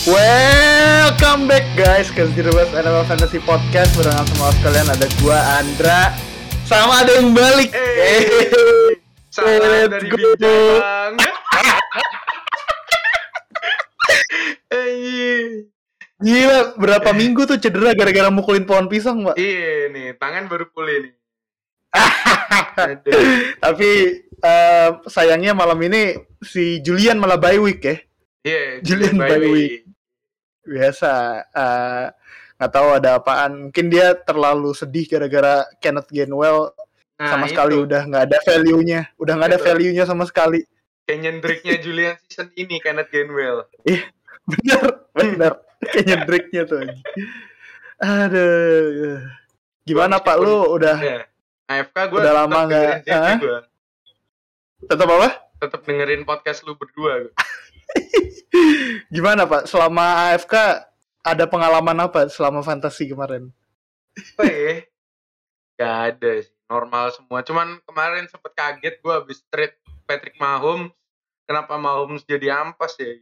Welcome back guys ke Zero's NFL Fantasy Podcast. Barengan semua sekalian, ada gua Andra sama ada yang balik. Salam dari Bintang. Gila, berapa minggu tuh cedera gara-gara mukulin pohon pisang, Pak. Iya nih, tangan baru pulih nih. Tapi sayangnya malam ini si Julian malah bye week ya. Iya, Julian bye week. Biasa, nggak tahu ada apaan. Mungkin dia terlalu sedih gara-gara Kenneth Gainwell sama sekali udah nggak ada value-nya, value-nya sama sekali. Kayak nyendriknya Julian season ini Kenneth Gainwell. Iya, benar. Kayak nyendriknya tuh. Aduh, gimana Pak? Lu udah? Ya. AFK gue udah lama nggak? Tetap apa? Tetap dengerin podcast lu berdua. Gimana Pak? Selama AFK ada pengalaman apa selama fantasi kemarin? Apa ya? Gak ada sih, normal semua. Cuman kemarin sempet kaget gue abis trade Patrick Mahomes. Kenapa Mahomes jadi ampas ya?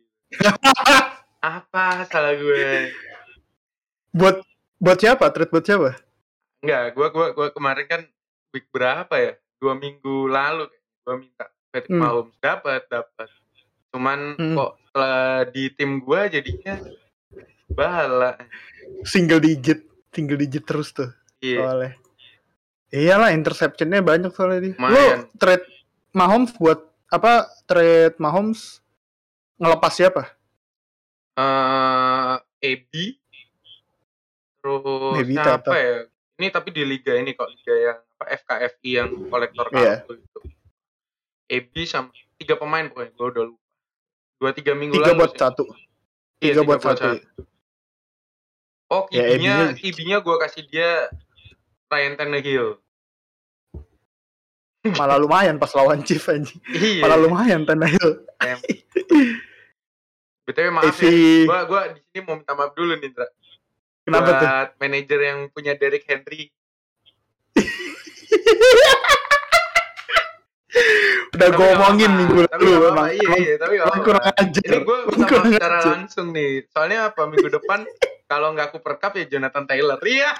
Apa salah gue? Buat siapa? Trade buat siapa? Enggak, gue kemarin kan week berapa ya? 2 minggu lalu gue minta Patrick Mahomes dapat. Cuman kok setelah di tim gue jadinya bala. Single digit terus tuh. Iya. Soalnya. Iyalah, interceptionnya banyak soalnya dia. Lu trade Mahomes buat apa? Trade Mahomes ngelepas siapa? AB. Terus siapa ya? Ini tapi di liga ini kok, liga yang apa, FKFI yang kolektor kartu gitu. AB sama 3 pemain pokoknya, gue udah lupa. 2-3 minggu lalu. 3 buat 1. 3 buat 1. Oh, QB-nya gue kasih dia Ryan Tannehill. Malah lumayan pas lawan Chiefs anjing. Iya. Malah lumayan Tannehill. BTW maaf ya, gue di sini mau minta maaf dulu nih, Indra. Kenapa tuh? Buat manajer yang punya Derrick Henry. Udah gue omongin minggu lalu emang. Iya, tapi kurang ajar. Ini gue minta maaf secara langsung nih. Soalnya apa, minggu depan kalau nggak Cooper Cup ya Jonathan Taylor. Iya.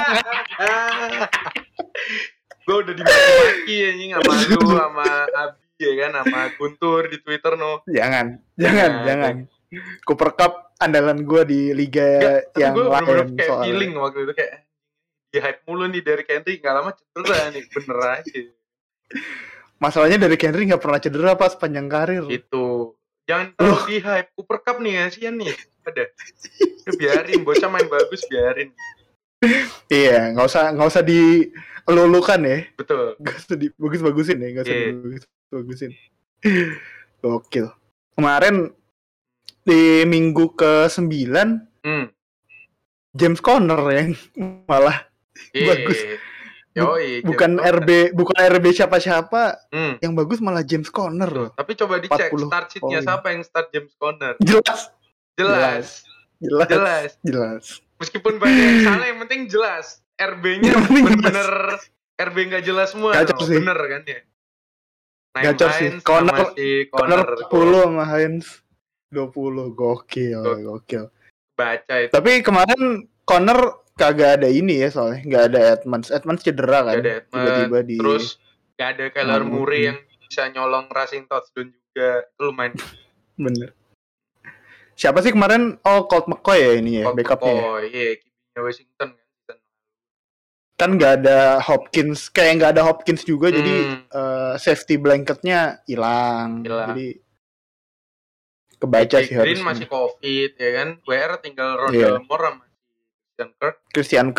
Gue udah dimaki-maki anjing sama lu, sama Abi ya kan, sama Guntur di Twitter no. Jangan. Cooper Cup andalan gue di liga yang gue lain. Gue kayak feeling waktu itu kayak di hype mulu nih dari Henry, nggak lama cedera nih, bener aja. Masalahnya dari Henry nggak pernah cedera pas sepanjang karir. Itu jangan terlalu di hype. Cooper Cup nih kasihan nih. Udah biarin, bocah main bagus, biarin. Iya, nggak usah dilulukan ya. Betul. Nggak usah bagus-bagusin ya, nggak usah bagusin. Gokil. Kemarin di minggu ke-9 James Conner yang malah bagus. Yoi, bukan RB siapa-siapa, yang bagus malah James Conner loh. Tapi coba dicek start sheet-nya siapa yang start James Conner. Jelas. Meskipun banyak yang salah, yang penting jelas. RB-nya bener-bener RB nggak jelas semua. Gacor sih. Bener kan ya. Gacor sih. Conner 10 sama Hines 20. Gokil. Baca itu. Tapi kemarin Conner kagak ada ini ya, soalnya nggak ada Edmonds cedera kan. Tiba-tiba terus nggak ada Kyler Murray yang bisa nyolong rushing touchdown juga. Itu lumayan. Bener. Siapa sih kemarin? Oh, Colt McCoy ya ini ya, backupnya ya? Iya, QB-nya Washington kan. Kan nggak ada Hopkins, kayak nggak ada Hopkins juga, jadi safety blanketnya hilang. Jadi kebaca sih harusnya. Green masih COVID ya kan. WR tinggal Rondale Moore sama Christian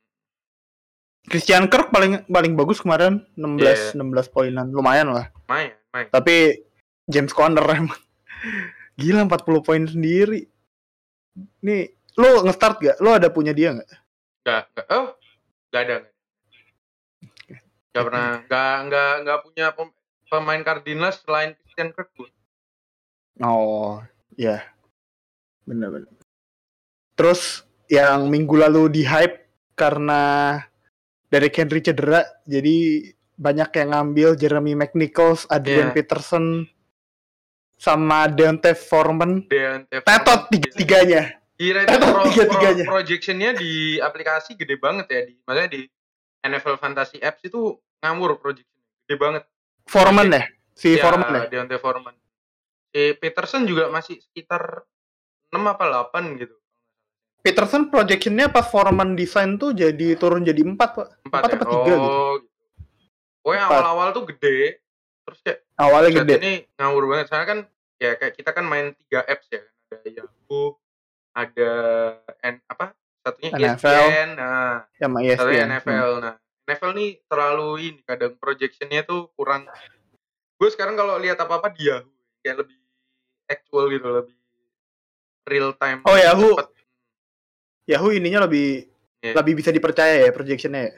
Kirk paling bagus kemarin, 16 poinan, lumayan lah. Lumayan. Tapi James Conner emang gila 40 poin sendiri. Nih, lo nge-start gak? Lo ada punya dia gak? Gak ada. Gak pernah. Gak punya pemain Cardinals selain Christian Kirk. Oh, ya. Bener. Terus yang minggu lalu di hype karena Derrick Henry cedera, jadi banyak yang ngambil Jeremy McNichols, Adrian Peterson, sama Deontay Foreman. Tetot tiga-tiganya. Kira itu projectionnya di aplikasi gede banget ya, maksudnya di NFL Fantasy Apps itu ngawur projectionnya, gede banget. Foreman ya? Foreman ya? Deontay Foreman. Peterson juga masih sekitar 6 apa 8 gitu. Peterson projectionnya pas Foreman design tuh jadi turun jadi 4 Pak. 4 apa 3 gitu. Oh yang awal-awal tuh gede, terus kayak awalnya gede. Ini ngawur banget, soalnya kan ya kayak kita kan main 3 apps ya, ada Yahoo, ada satunya NFL, ESPN, satunya NFL. Nah, NFL nih terlalu ini kadang projectionnya tuh kurang. Gue sekarang kalau lihat apa-apa di Yahoo kayak lebih actual gitu, lebih real time. Oh Yahoo ininya lebih bisa dipercaya ya projectionnya ya.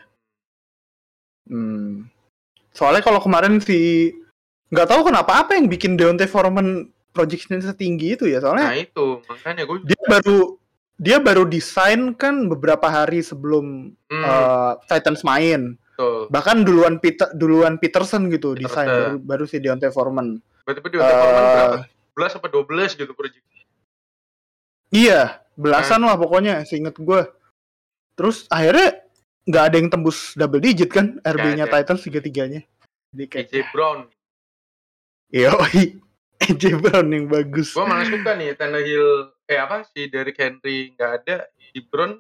Soalnya kalau kemarin nggak tahu kenapa apa yang bikin Deontay Foreman projectionnya setinggi itu ya, soalnya. Nah itu makanya gue. Dia baru desain kan beberapa hari sebelum Titans main. Betul. Bahkan duluan Peterson gitu desain baru si Deontay Foreman. Berarti Deontay Foreman berapa? 11 apa 12 gitu project. Iya, belasan lah pokoknya seinget gue. Terus akhirnya nggak ada yang tembus double digit kan RB-nya Titans tiga-tiganya. Jadi kayak AJ Brown. Yoi, AJ Brown yang bagus. Gue malah suka nih Tannehill si Derrick Henry nggak ada, di Brown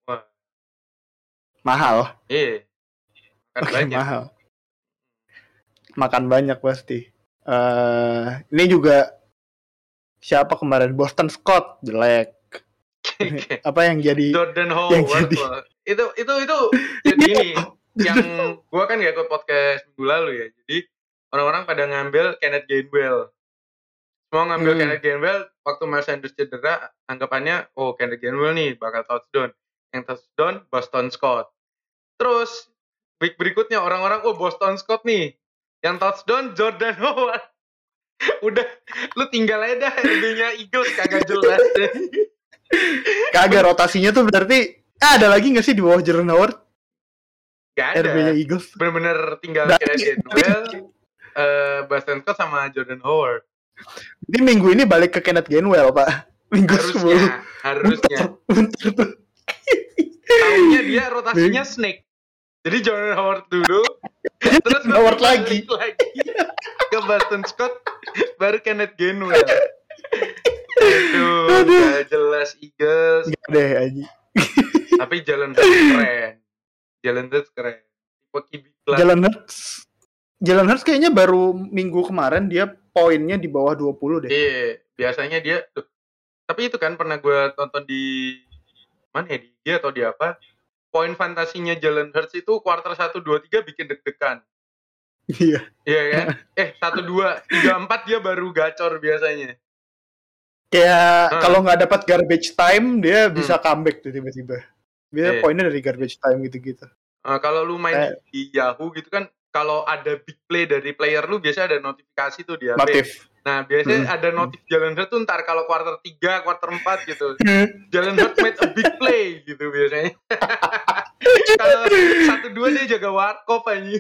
mahal. Iya. Mahal. Makan banyak pasti. Ini juga siapa kemarin? Boston Scott jelek. Apa yang jadi Jordan Howard? Itu jadi ini yang gue kan gak ikut podcast minggu lalu ya. Jadi orang-orang pada ngambil Kenneth Gainwell. Semua ngambil Kenneth Gainwell waktu Miles Sanders cedera, anggapannya Kenneth Gainwell nih bakal touchdown. Yang touchdown Boston Scott. Terus week berikutnya orang-orang Boston Scott nih. Yang touchdown Jordan Howard. Udah lu tinggal aja dah RB-nya Eagles kagak jelas deh. Kagak, rotasinya tuh berarti ada lagi gak sih di bawah Jordan Howard? Gak ada. RB-nya Eagles bener-bener tinggal Kenneth Gainwell, Boston Scott sama Jordan Howard. Jadi minggu ini balik ke Kenneth Gainwell, Pak. Minggu harusnya. Tahunnya dia rotasinya snake. Jadi Jordan Howard dulu, terus Howard lagi ke Boston Scott, baru Kenneth Gainwell. Aduh, gak jelas Eagles. Gak deh aja. Tapi Jalen Hurts keren. Jalen Hurts kayaknya baru minggu kemarin dia poinnya di bawah 20 deh. Iya, biasanya dia tapi itu kan pernah gue tonton di mana ya, di dia atau di apa? Poin fantasinya Jalen Hurts itu quarter 1 2 3 bikin deg-degan. Iya. Iya kan? 1 2 3 4 dia baru gacor biasanya. Kayak kalau nggak dapat garbage time dia bisa comeback tuh tiba-tiba. Biasanya poinnya dari garbage time gitu-gitu. Kalau lu main di Yahoo gitu kan, kalau ada big play dari player lu biasanya ada notifikasi tuh di HP. Notif. Nah biasanya ada notif Jalen Hurts tuh ntar kalau quarter 3, quarter 4 gitu. Jalen Hurts made a big play gitu biasanya. Kalau 1-2 dia jaga warkop aja.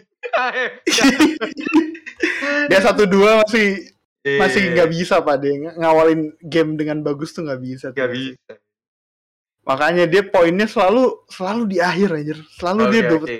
Dia 1-2 masih nggak bisa Pak dia ngawalin game dengan bagus tuh nggak bisa. Nggak bisa. Makanya dia poinnya selalu di akhir aja. Selalu dia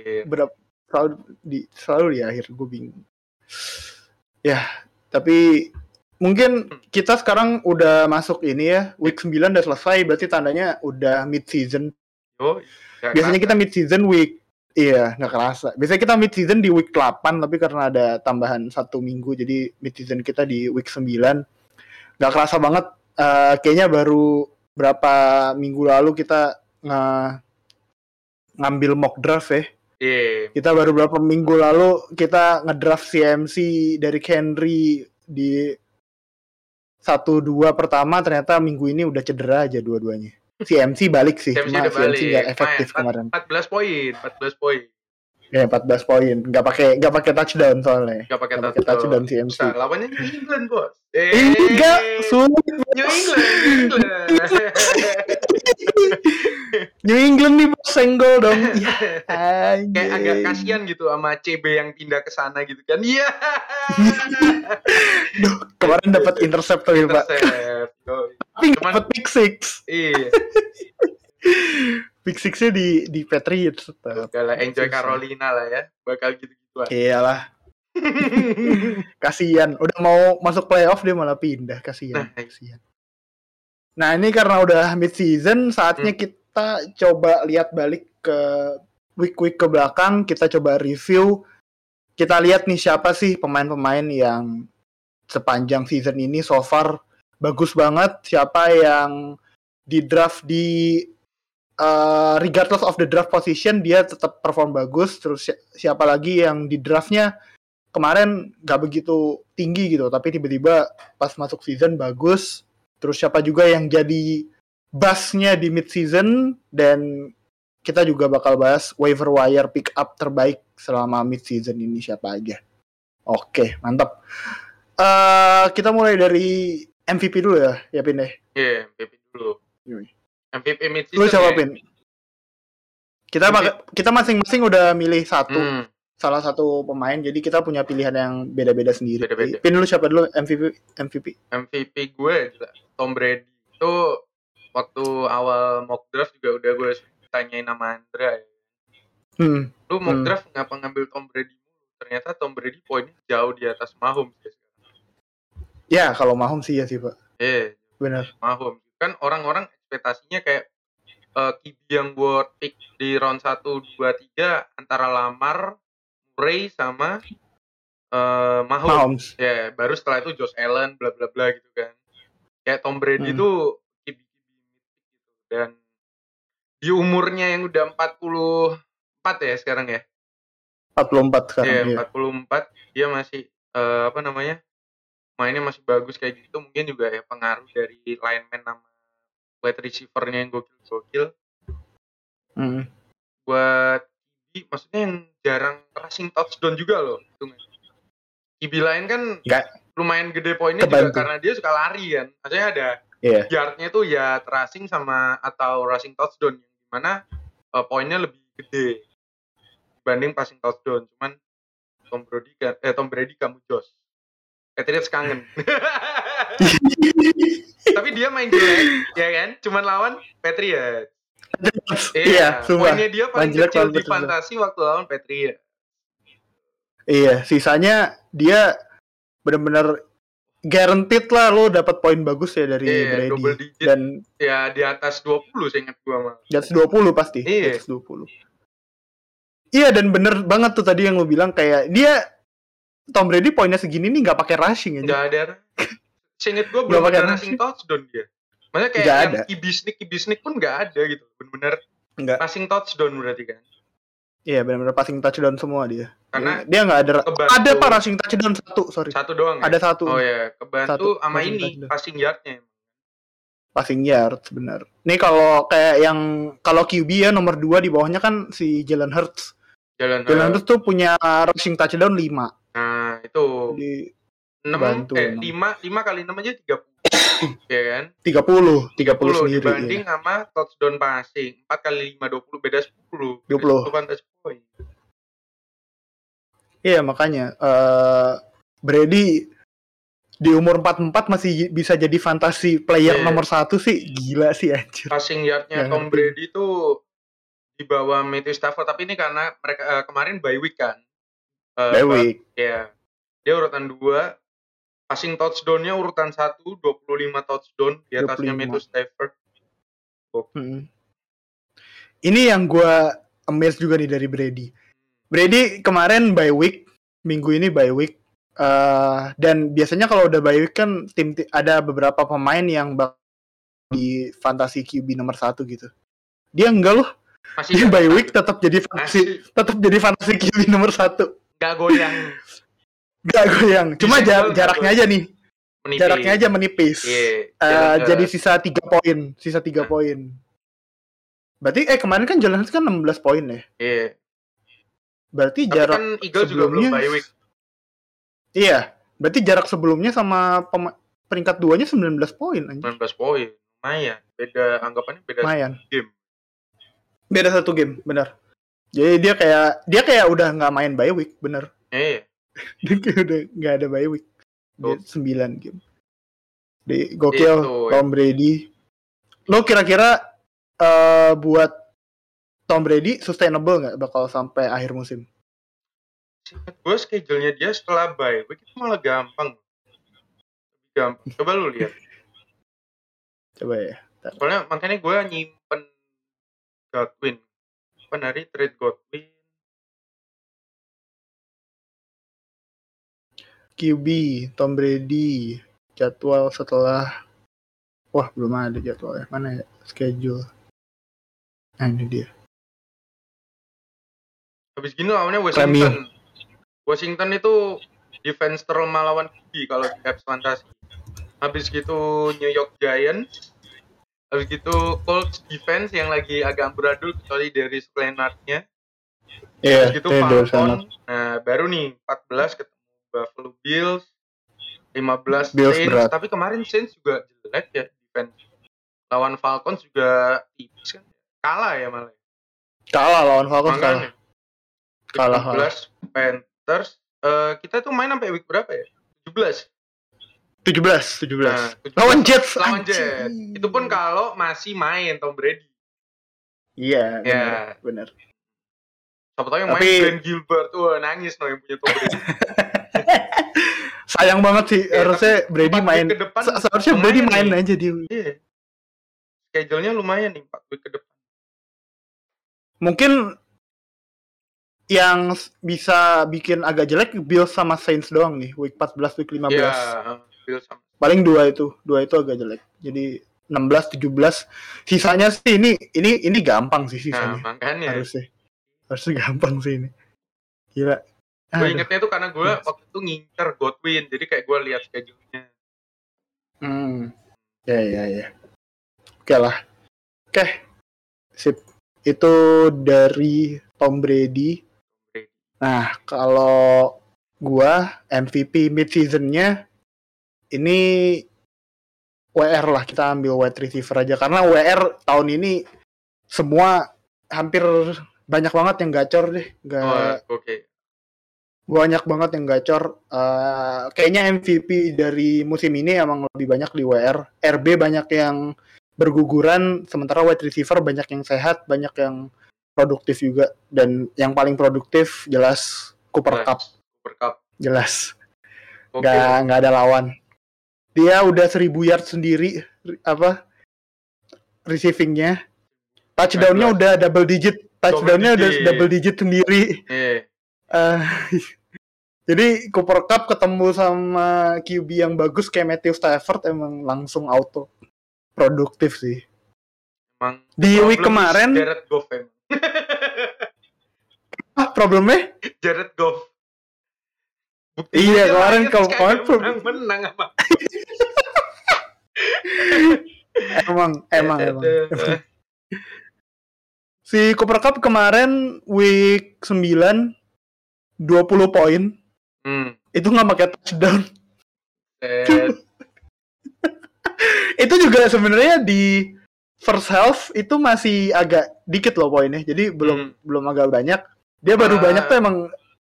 selalu di akhir. Gue bingung. Ya, tapi mungkin kita sekarang udah masuk ini ya, week 9 udah selesai, berarti tandanya udah mid season. Biasanya kita mid season week. Iya, nggak kerasa. Biasanya kita mid season di week 8, tapi karena ada tambahan 1 minggu, jadi mid season kita di week 9. Nggak kerasa banget. Kayaknya baru berapa minggu lalu kita ngambil mock draft ya. Kita baru berapa minggu lalu kita ngedraft CMC dari Henry di 1-2 pertama, ternyata minggu ini udah cedera aja dua-duanya. CMC balik sih, cuma CMC nggak efektif kemarin. 14 poin. Ya 14 poin, nggak pakai touchdown soalnya. Nggak pakai touchdown CMC. Nah, lawannya New England bos. Enggak, sulit. New England. New England nih bos, senggol dong. Kayak agak kasihan gitu sama CB yang pindah ke sana gitu kan. Iya. Kemarin dapat intercept tuh, Pak. Tapi dapat pick six. Iya. Pick six-nya di Patriots. Udah enjoy Carolina lah ya. Bakal gitu-gituan. Iyalah. Kasian. Udah mau masuk playoff dia malah pindah. Kasian. Nah, ini karena udah mid season, saatnya kita coba lihat balik ke week-week ke belakang. Kita coba review. Kita lihat nih siapa sih pemain-pemain yang sepanjang season ini so far bagus banget. Siapa yang di draft di regardless of the draft position dia tetap perform bagus. Terus siapa lagi yang di draftnya kemarin gak begitu tinggi gitu, tapi tiba-tiba pas masuk season bagus. Terus siapa juga yang jadi buzz-nya di mid season, dan kita juga bakal bahas waiver wire pick up terbaik selama mid season ini siapa aja. Oke, mantap. Kita mulai dari MVP dulu ya Pin deh. Iya, MVP dulu. MVP mid season. Lu siapa, Pin? Kita masing-masing udah milih salah satu pemain, jadi kita punya pilihan yang beda-beda sendiri. Beda-beda. Pin, lu siapa dulu MVP? MVP gue Tom Brady. Itu waktu awal mock draft juga udah gue tanyain sama Andra ya. Lu mock draft ngapa ngambil Tom Brady? Ternyata Tom Brady poinnya jauh di atas Mahomes ya. Ya, kalau Mahomes sih ya sih, Pak. Iya. Benar. Mahomes. Kan orang-orang ekspektasinya kayak QB yang buat pick di round 1, 2, 3 antara Lamar, Murray sama Mahomes. Ya, baru setelah itu Josh Allen bla bla bla gitu kan. Kayak Tom Brady itu QB gitu. Dan di umurnya yang udah 44 ya sekarang ya. 44 sekarang. Iya, 44 dia masih mainnya masih bagus kayak gitu. Mungkin juga ya pengaruh dari lineman sama wide receiver-nya yang gokil. Buat QB maksudnya yang jarang rushing touchdown juga loh. QB lain kan lumayan gede poinnya juga karena dia suka lari kan. Maksudnya ada yardnya tuh ya rushing sama atau rushing touchdown yang dimana poinnya lebih gede dibanding passing touchdown. Cuman Tom Brady kamu Josh. Patriots kangen. Tapi dia main jelek, ya kan? Cuman lawan Patriots. Iya, poinnya dia paling kecil di fantasi waktu lawan Patriots. Iya, sisanya dia benar-benar guaranteed lah lo dapat poin bagus ya dari Brady. Double digit. Dan ya di atas 20 saya ingat gua mah. Di atas 20 pasti. Di atas 20. Iya, dan bener banget tuh tadi yang lo bilang kayak dia Tom Brady poinnya segini nih nggak pakai rushing aja. Nggak ada. Seinget gue belum ada rushing touchdown dia. Maksudnya kayak yang QB sneak pun nggak ada gitu. Bener-bener passing touchdown berarti kan. Iya, bener-bener passing touchdown semua dia. Karena dia nggak ada. Ada pak rushing touchdown satu doang. Ada satu. Oh ya, kebantu sama ini passing yardnya. Passing yard benar. Nih kalau kayak kalau QB ya nomor 2 di bawahnya kan si Jalen Hurts. Jalen Hurts tuh punya rushing touchdown 5. Nah, itu 5 kali 6 aja 30. Ya kan? 30 sendiri. Dibanding sama touchdown passing 4 kali 5 20 beda 10. 20 fantasy point. Iya, makanya Brady di umur 44 masih bisa jadi fantasy player nomor 1 sih. Gila sih anjir. Passing yardnya Tom Brady tuh di bawah Matthew Stafford, tapi ini karena mereka kemarin bye week kan. Bye week. Ya. Dia urutan 2. Passing touchdown-nya urutan 1, 25 touchdown di atasnya Matthew Stafford. Ini yang gue amazed juga nih dari Brady. Brady kemarin bye week, minggu ini bye week. Dan biasanya kalau udah bye week kan tim ada beberapa pemain yang di fantasy QB nomor 1 gitu. Dia enggak loh. Dia bye week tetap jadi fantasy QB nomor 1. Gak goyang. Cuma jaraknya aja nih. Jaraknya aja menipis. Jadi sisa 3 poin. Berarti kemarin kan Jalen Hurts kan 16 poin ya. Iya. Berarti jarak kan Eagles juga belum bye week. Iya. Berarti jarak sebelumnya sama peringkat 2-nya 19 poin anjir. 19 poin. Lumayan. Anggapannya beda 1 game. Beda 1 game, benar. Jadi dia kayak udah enggak main bye week, benar. Iya. Dia kayak udah enggak ada bye week. Dia 9 game. Di gokil Tom Brady. Lo kira-kira buat Tom Brady sustainable nggak bakal sampai akhir musim? Gue schedule-nya dia setelah bye week itu malah gampang. Coba lu lihat. Coba ya. Soalnya makanya gue nyimpen Godwin. Hari trade Godwin. QB Tom Brady jadwal setelah belum ada jadwalnya. Mana ya schedule? Nah, ini dia. Habis gini lawannya Washington. Washington itu defense terlemah lawan QB kalau di Caps Fantasy. Habis gitu New York Giants. Habis gitu Colts defense yang lagi agak amburadul kecuali dari Leonard-nya. Habis gitu Falcon. Nah, baru nih 14 ketemu Buffalo Bills. 15 Saints. Tapi kemarin Saints juga jelek ya defense. Lawan Falcons juga tipis kan. Kalah ya malah. Kalah lawan Falcons kalah. 15 Panthers. Kita tuh main sampai week berapa ya? 17. Nah, lawan Jets. Itu pun kalau masih main Tom Brady. Iya, benar. Siapa tahu yang main Glenn Gilbert tuh nangis yang punya Tom Brady. Sayang banget sih, harusnya Brady main. Seharusnya Brady main aja dia. Iya. Schedule-nya lumayan nih 4 week ke depan. Mungkin yang bisa bikin agak jelek Bills sama Saints doang nih, week 14, week 15. Iya, Bills sama. Paling dua itu agak jelek. Jadi 16, 17. Sisanya sih ini gampang sih sisanya. Nah, makanya. Harusnya gampang sih ini. Gila. Gue ingetnya tuh karena gue waktu itu ngincer Godwin, jadi kayak gue lihat schedule-nya. Ya. Oke lah. Oke. Sip. Itu dari Tom Brady. Nah, kalau gua MVP mid-season-nya ini WR lah, kita ambil wide receiver aja karena WR tahun ini semua hampir banyak banget yang gacor deh. Oke. Banyak banget yang gacor. Kayaknya MVP dari musim ini emang lebih banyak di WR. RB banyak yang berguguran, sementara wide receiver banyak yang sehat, banyak yang produktif juga. Dan yang paling produktif jelas Cooper Cup. Jelas. Nggak ada lawan. Dia udah 1000 yard sendiri receivingnya. Touchdown-nya udah double digit. Touchdown-nya udah double digit sendiri. Jadi Cooper Cup ketemu sama QB yang bagus kayak Matthew Stafford emang langsung auto produktif sih. Emang di week kemarin Jared Goff problemnya? Jared Goff. Iya kemarin kalau menang apa? emang. Si Cooper Cup kemarin week 9 20 poin. Itu nggak pakai touchdown. Itu juga sebenarnya di first half itu masih agak dikit loh poinnya. Jadi belum agak banyak. Dia baru banyak tuh emang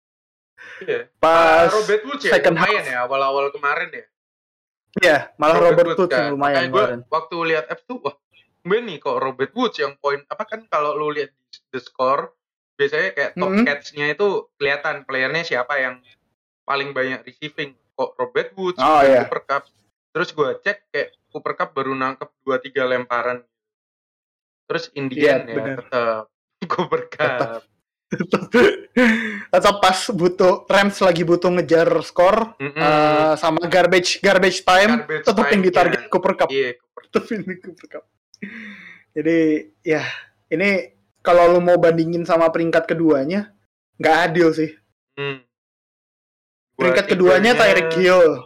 pas Robert Woods ya, second lumayan half. ya awal-awal kemarin ya. Iya, malah Robert Woods yang lumayan kemarin. Waktu lihat F tuh nih kok Robert Woods yang poin apa kan kalau lu lihat the score biasanya kayak top catch-nya itu kelihatan playernya siapa yang paling banyak receiving. Kok Robert Woods, Cooper Cup. Terus gue cek kayak Cooper Cup baru nangkep 2-3 lemparan. Terus in the end ya tetap Cooper Cup. Tetap pas Rams lagi butuh ngejar skor sama garbage time tetap yang ditarget Cooper Cup. Iya, Cooper Cup. Jadi ya ini kalau lu mau bandingin sama peringkat keduanya nggak adil sih. Peringkat keduanya Tyreek Hill.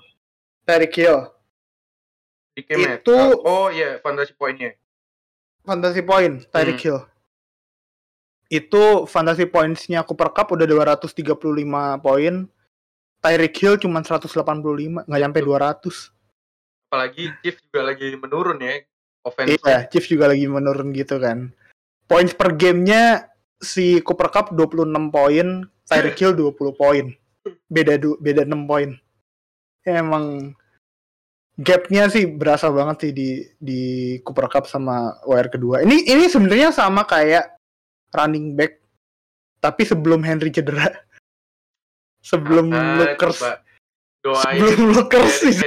Itu fantasy poinnya. Fantasy point Tyreek Hill. Itu fantasy points-nya Cooper Cup udah 235 poin. Tyreek Hill cuma 185, nggak nyampe 200. Apalagi Chiefs juga lagi menurun ya. Iya, Chiefs juga lagi menurun gitu kan. Points per game-nya si Cooper Cup 26 poin, Tyreek Hill 20 poin. Beda 6 poin. emang gapnya sih berasa banget sih di Cooper Cup sama WR kedua. Ini sebenarnya sama kayak running back tapi sebelum Henry cedera. Sebelum Lookers. Sebelum Lookers sih.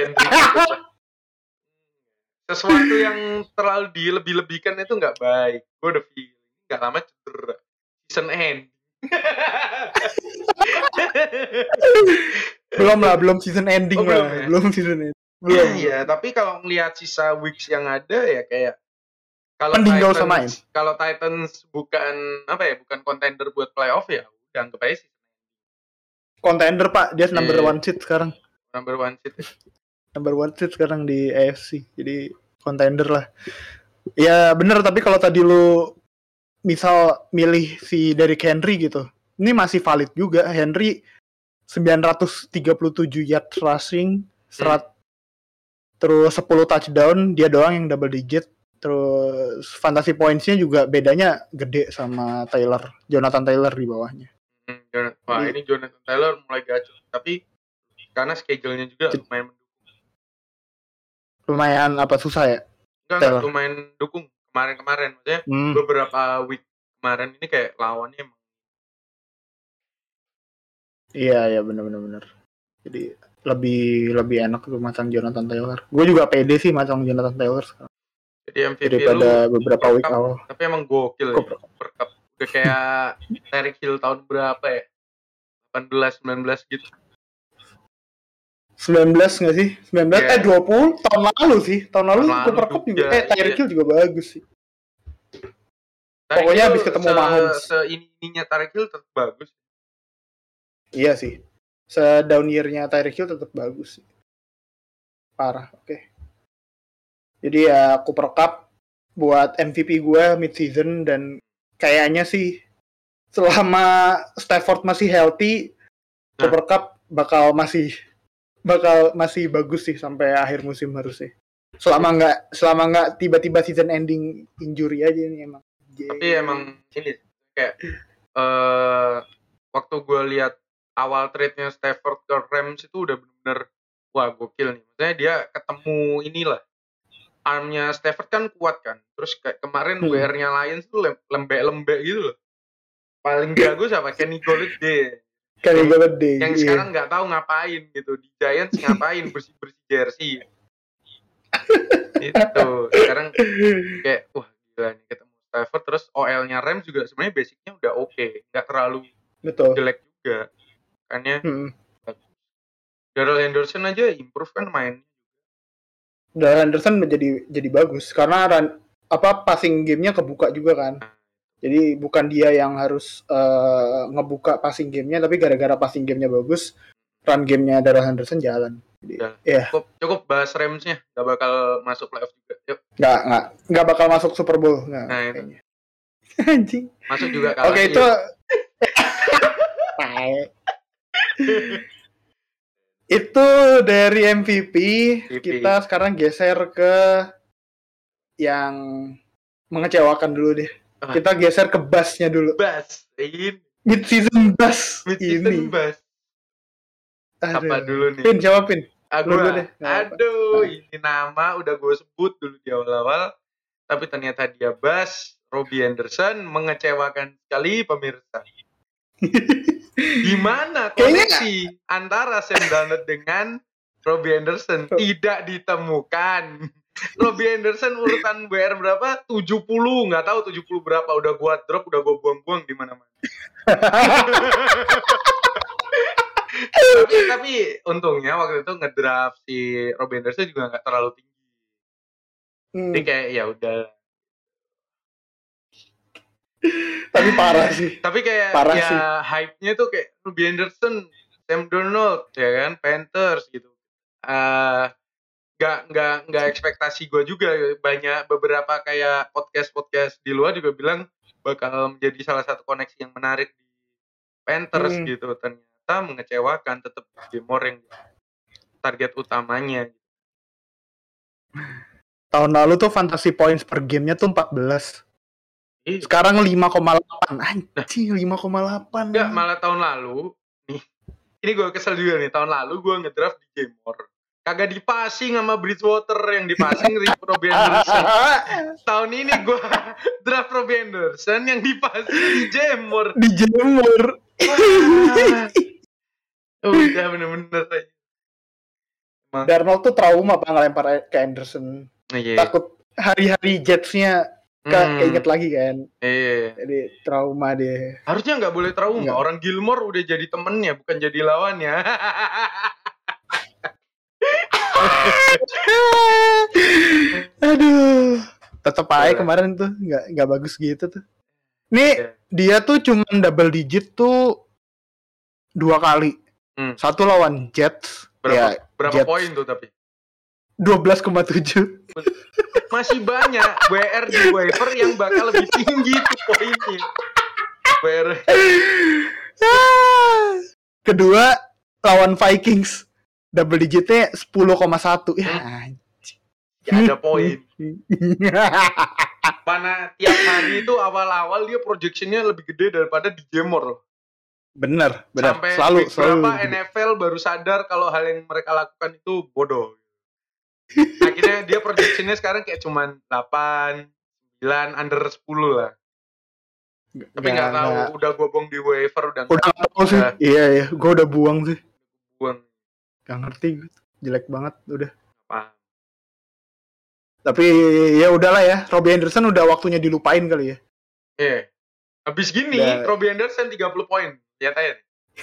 Sesuatu yang terlalu dilebih-lebihkan itu nggak baik. Gue udah feeling nggak lama cedera. Season end. belum season ending lah. Ya? Belum season ending. Belum. Iya, tapi kalau ngelihat sisa weeks yang ada ya kayak kalau Titans bukan contender buat playoff ya udah anggap aja sih. Contender Pak, dia number one seed sekarang. Number one seed. Number one seed sekarang di AFC. Jadi contender lah. Ya bener, tapi kalau tadi lu misal milih si Derrick Henry gitu, ini masih valid juga. Henry 937 yards rushing, terus 10 touchdown, dia doang yang double digit. Terus fantasy points-nya juga bedanya gede sama Jonathan Taylor di bawahnya. Wah, ini Jonathan Taylor mulai gacor, tapi karena schedule-nya juga lumayan apa susah ya? Enggak, lumayan dukung kemarin-kemarin, maksudnya beberapa week kemarin ini kayak lawannya emang. Iya benar. Jadi lebih enak tuh masang Jonathan Taylor. Gue juga pede sih masang Jonathan Taylor sekarang. Jadi MVP daripada beberapa week awal. Tapi emang gokil ya. Perkap. Udah kayak Tyreek Hill tahun berapa ya? 18, 19 gitu. 19 nggak sih? 19 20 tahun lalu sih. Tahun lalu Cooper Cup juga Tyreek Hill juga bagus sih. Pokoknya habis ketemu Mahomes. Seininya Tyreek Hill tetap bagus. Iya sih. Down year-nya Tyreek Hill tetap bagus sih. Parah, oke. Jadi ya Cooper Cup buat MVP gue mid-season, dan kayaknya sih selama Stafford masih healthy, Cooper Cup bakal masih bagus sih sampai akhir musim harusnya. Selama nggak tiba-tiba season ending injury aja ini emang. Tapi emang ini kayak waktu gue lihat awal trade-nya Stafford ke Rams itu udah bener-bener wah gokil nih. Maksudnya dia ketemu inilah. Armnya Stafford kan kuat kan. Terus kayak kemarin WR-nya Lions tuh lembek-lembek gitu loh. Paling jago siapa? Kenny Golladay. Yang sekarang nggak tahu ngapain gitu. Di Giants ngapain bersih-bersih jersey. Itu. Sekarang kayak wah gila nih ketemu Stafford. Terus OL-nya Rams juga sebenarnya basicnya udah oke. Nggak terlalu jelek juga. Makanya Darrell Henderson aja improve kan main. Darrell Henderson jadi bagus karena passing game-nya kebuka juga kan. Jadi bukan dia yang harus ngebuka passing game-nya, tapi gara-gara passing game-nya bagus, run game-nya Darrell Henderson jalan. Jadi, cukup bahas Rams-nya, nggak bakal masuk playoff juga. Yuk. Nggak bakal masuk Super Bowl. Nah itu. Anjing. Masuk juga kalah. Oke, itu. Itu dari MVP. Kita sekarang geser ke yang mengecewakan dulu deh. Kita geser ke bass-nya dulu. Bass. Ini. Mid-season bass. Mid-season bass. Apa dulu nih? Pin, jawabin. Dulu deh. Ini nama udah gue sebut dulu di awal-awal. Tapi ternyata dia bass. Robbie Anderson mengecewakan sekali pemirsa. Gimana koneksi antara Sam Darnold dengan Robbie Anderson? Tidak ditemukan. Robbie Anderson urutan WR berapa? 70, nggak tahu 70 berapa. Udah gua drop, udah gua buang-buang di mana-mana. tapi untungnya waktu itu ngedraft si Robbie Anderson juga nggak terlalu tinggi. Jadi kayak ya udah. Tapi parah sih. Tapi kayak hype-nya tuh kayak Robbie Anderson, Sam Darnold, ya kan, Panthers gitu. Nggak ekspektasi gue juga. Banyak beberapa kayak podcast di luar juga bilang bakal menjadi salah satu koneksi yang menarik di Panthers gitu. Ternyata mengecewakan, tetap Gilmore yang target utamanya. Tahun lalu tuh fantasy points per gamenya tuh 14. Sekarang 5,8. Anjing, 5,8. Enggak, malah tahun lalu nih. Ini gue kesel juga nih. Tahun lalu gue ngedraft di Gilmore. Kagak dipasing sama Bridgewater, yang dipasing Robbie Anderson. Tahun ini gue draft Robbie Anderson, yang dipasing dijemur. Udah bener-bener aja. Darnold tuh trauma Pak ngelempar ke Anderson. Takut hari-hari Jets-nya keinget lagi kan. Jadi trauma dia. Harusnya nggak boleh trauma. Enggak. Orang Gilmore udah jadi temennya, bukan jadi lawannya. Aduh, tetep aja kemarin tuh nggak bagus gitu tuh. Nih dia tuh cuman double digit tuh 2 kali. Satu lawan Jets. Berapa poin tuh tapi? 12,7. Masih banyak WR di waiver yang bakal lebih tinggi tuh poinnya. WR. Kedua lawan Vikings. Double digitnya 10,1. Ya, gak ada poin. Mana tiap hari itu awal-awal dia projectionnya lebih gede daripada di Jamor. Bener. Sampai selalu berapa NFL baru sadar kalau hal yang mereka lakukan itu bodoh. Akhirnya dia projectionnya sekarang kayak cuman 8, 9, under 10 lah. Tapi nggak tahu, udah gue buang di waiver udah tahu sih. Iya, gue udah buang sih. Buang. Gak ngerti, jelek banget udah. Paham. Tapi ya udahlah ya, Robbie Anderson udah waktunya dilupain kali ya. Iya. Habis gini, Robbie Anderson 30 poin. Lihat aja.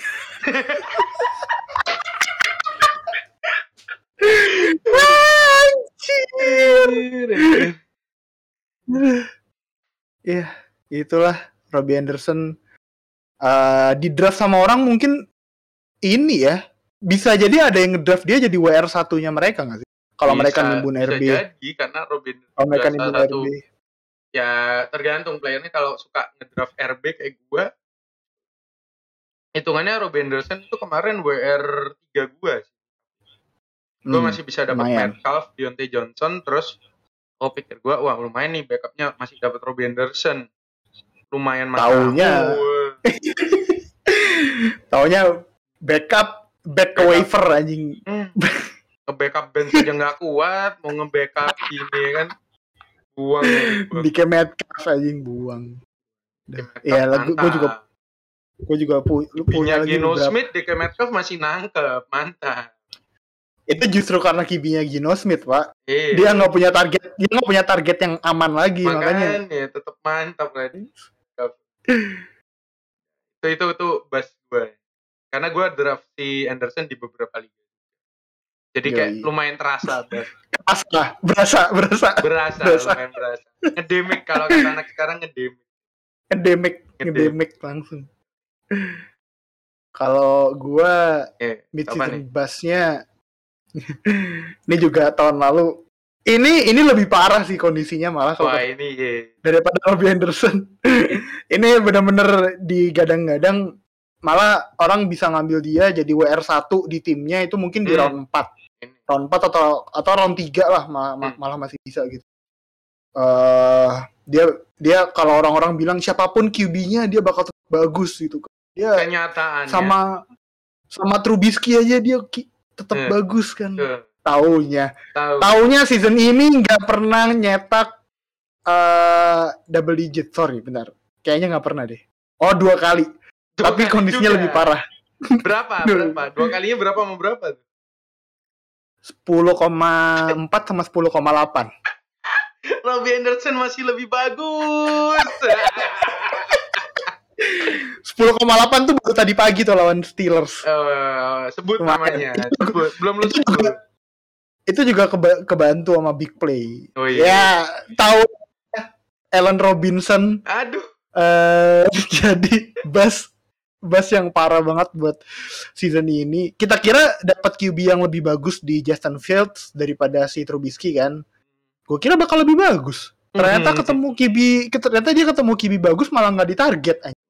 Iya, itulah Robbie Anderson di draft sama orang mungkin ini ya. Bisa jadi ada yang ngedraft dia jadi WR satunya mereka nggak sih? Kalau mereka nimbun RB. Bisa jadi karena Robin mereka nimbun RB. Ya tergantung playernya. Kalau suka ngedraft RB kayak gue, hitungannya Robbie Anderson itu kemarin WR 3 gue sih. Gue masih bisa dapat Metcalf, Diontae Johnson, terus pikir gue, wah lumayan nih backupnya masih dapat Robbie Anderson. Lumayan mahal. Taunya backup back ke waiver anjing. Nge-backup bench aja nggak kuat, mau nge-backup ini kan buang. DK Metcalf anjing buang. Iya, gue juga punya lagi Geno Smith, DK Metcalf masih nangkep, mantap. Itu justru karena kibinya Geno Smith, Pak. Dia nggak punya target yang aman lagi, makanya tetap mantap kan. Itu bas gue. Karena gue draft si Anderson di beberapa liga. Jadi kayak lumayan terasa. Berasa. Lumayan berasa. Ngedemik kalau kata anak sekarang ngedemik langsung. Kalau gue mid-season bass-nya ini juga tahun lalu. Ini lebih parah sih kondisinya malah kalau daripada Robbie Anderson. Ini benar-benar digadang-gadang, malah orang bisa ngambil dia jadi WR1 di timnya itu mungkin di round 4. Round 4 atau round 3 lah malah masih bisa gitu. Dia kalau orang-orang bilang siapapun QB-nya dia bakal tetap bagus gitu. Dia kenyataannya sama Trubisky aja dia tetap bagus kan. Taunya season ini nggak pernah nyetak double digit. Sorry, benar. Kayaknya nggak pernah deh. 2 kali. Tapi kondisinya lebih parah. Berapa? 2 kalinya berapa sama berapa? 10,4 sama 10,8. Robbie Anderson masih lebih bagus. 10,8 tuh baru tadi pagi tuh lawan Steelers. Sebut namanya. Belum lu sebut. Itu juga kebantu sama big play. Ya, tahu Allen Robinson. Aduh. Jadi Bass yang parah banget buat season ini. Kita kira dapat QB yang lebih bagus di Justin Fields daripada si Trubisky kan. Gue kira bakal lebih bagus. Ternyata ternyata dia ketemu QB bagus malah nggak ditarget aja.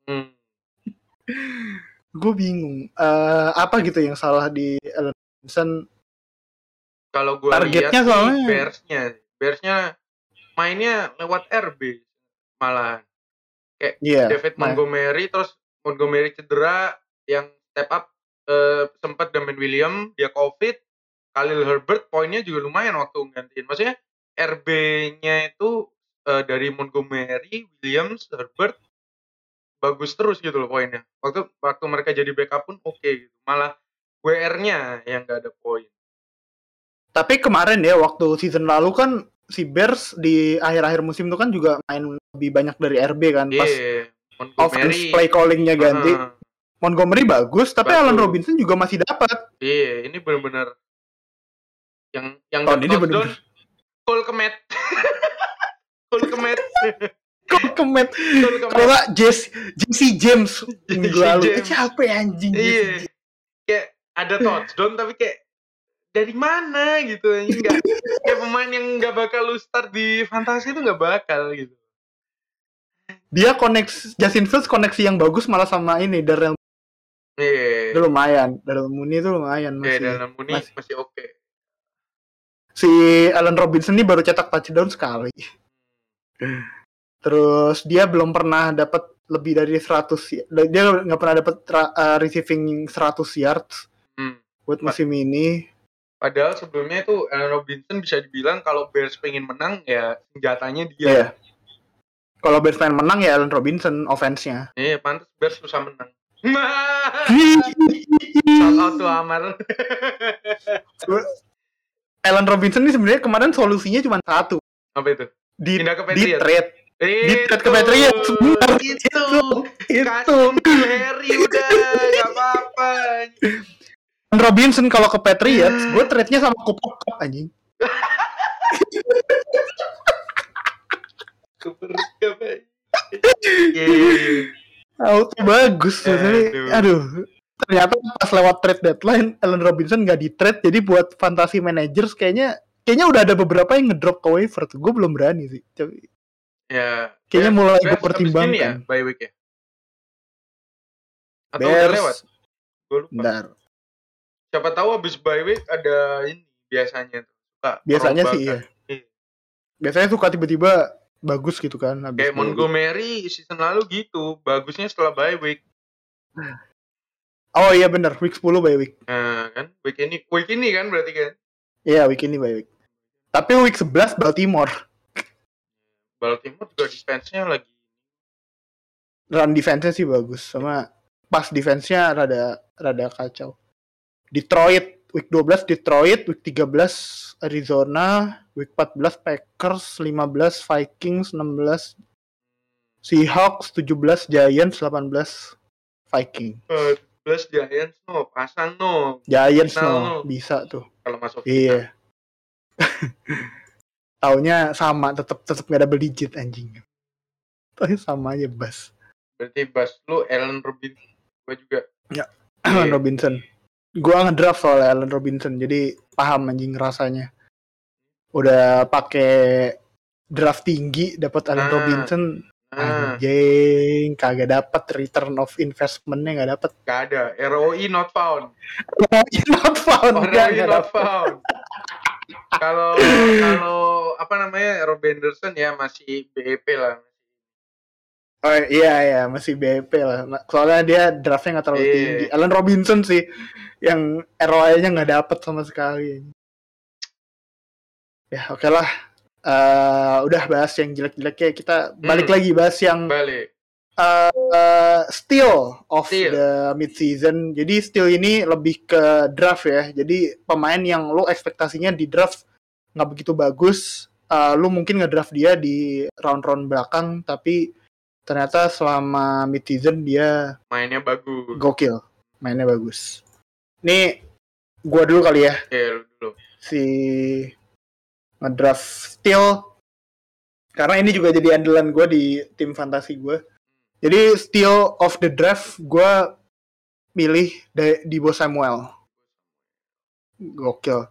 Gue bingung. Apa gitu yang salah di Allen Robinson? Kalau gue lihat sih Bearsnya mainnya lewat RB malah kayak David Montgomery, terus Montgomery cedera, yang step up sempat Damien Williams, dia COVID, Khalil Herbert poinnya juga lumayan waktu gantiin. Maksudnya RB-nya itu dari Montgomery, Williams, Herbert bagus terus gitu loh poinnya. Waktu mereka jadi backup pun oke gitu. Malah WR-nya yang nggak ada poin. Tapi kemarin ya waktu season lalu kan si Bears di akhir-akhir musim itu kan juga main lebih banyak dari RB kan. Pas offense play callingnya ganti. Montgomery bagus, tapi Allen Robinson juga masih dapat. Iya, ini benar-benar yang tahun ini benar-benar Cole Kmet. Kalau nggak Jesse James minggu lalu. Siapa ya anjing? Iya. Kayak ada touchdown tapi kayak dari mana gitu anjing, enggak kayak pemain yang nggak bakal lu start di fantasi itu nggak bakal gitu. Dia Justin Fields koneksi yang bagus malah sama ini Darrell. Iya. Itu lumayan. Darrell Mooney itu lumayan masih. Darrell Mooney masih oke. Si Allen Robinson ini baru cetak touchdown sekali. Terus dia belum pernah dapat lebih dari 100. Dia nggak pernah dapat receiving 100 yards buat musim ini. Padahal sebelumnya itu Allen Robinson bisa dibilang kalau Bears pengen menang ya senjatanya dia. Yeah. Kalau Bears pengen menang ya Allen Robinson offense-nya. Iya, pantas Bears susah menang. Shout out to Amar. Allen Robinson ini sebenarnya kemarin solusinya cuma satu. Apa itu? Pindah ke Patriots. Di trade ke Patriots. Itu. Harry udah nggak apa-apa. Allen Robinson kalau ke Patriots, gue trade-nya sama Cooper Kupp anjing. Cooper Kupp. Auto bagus. Aduh. Ternyata pas lewat trade deadline, Allen Robinson nggak di trade, jadi buat fantasy managers kayaknya udah ada beberapa yang ngedrop ke waiver tuh. Gue belum berani sih. Ya. Kayaknya mulai gue pertimbangkan. Ya, bye week ya. Atau Bears, udah lewat? Gue lupa. Bentar. Siapa tahu abis bye week ada ini biasanya tuh. Biasanya sih iya. Biasanya suka tiba-tiba bagus gitu kan. Kayak Montgomery season lalu gitu, bagusnya setelah bye week. Oh iya benar, week 10 bye week. Nah kan, week ini kan berarti kan? Iya, week ini bye week. Tapi week 11 Baltimore juga defense-nya lagi. Run defense-nya sih bagus, sama pass defense-nya rada kacau. Detroit, week 12 Detroit, week 13 Arizona, week 14 Packers, 15 Vikings, 16 Seahawks, 17 Giants, 18 Vikings. 17 Giants pasang Giants bisa tuh. Kalau masuk. Iya. Taunya sama, tetap nggak double digit anjing. Taunya sama aja Bas. Berarti Bas lu Allen Robinson, gue juga. Ya, Allen Robinson. Gua ngedraft soal Allen Robinson, jadi paham anjing rasanya. Udah pakai draft tinggi dapat Allen Robinson. Anjing, kagak dapat return of investment-nya nggak dapat. Gak ada, ROI not found. ROI not found. Kalau apa namanya Rob Anderson ya masih BEP lah. Oh iya masih BEP lah. Soalnya dia draftnya nggak terlalu tinggi. Allen Robinson sih yang ROI-nya nggak dapat sama sekali. Ya oke lah. Udah bahas yang jelek-jeleknya, kita balik lagi bahas yang steal of the mid-season. Jadi steal ini lebih ke draft ya. Jadi pemain yang lo ekspektasinya di draft nggak begitu bagus, lo mungkin ngedraft dia di round-round belakang, tapi ternyata selama mid-season dia mainnya bagus. Gokil, mainnya bagus. Nih gua dulu kali ya. Dulu. Si ngedraft steal, karena ini juga jadi andalan gue di tim fantasi gue. Jadi steal of the draft gue milih Deebo Samuel. Gokil.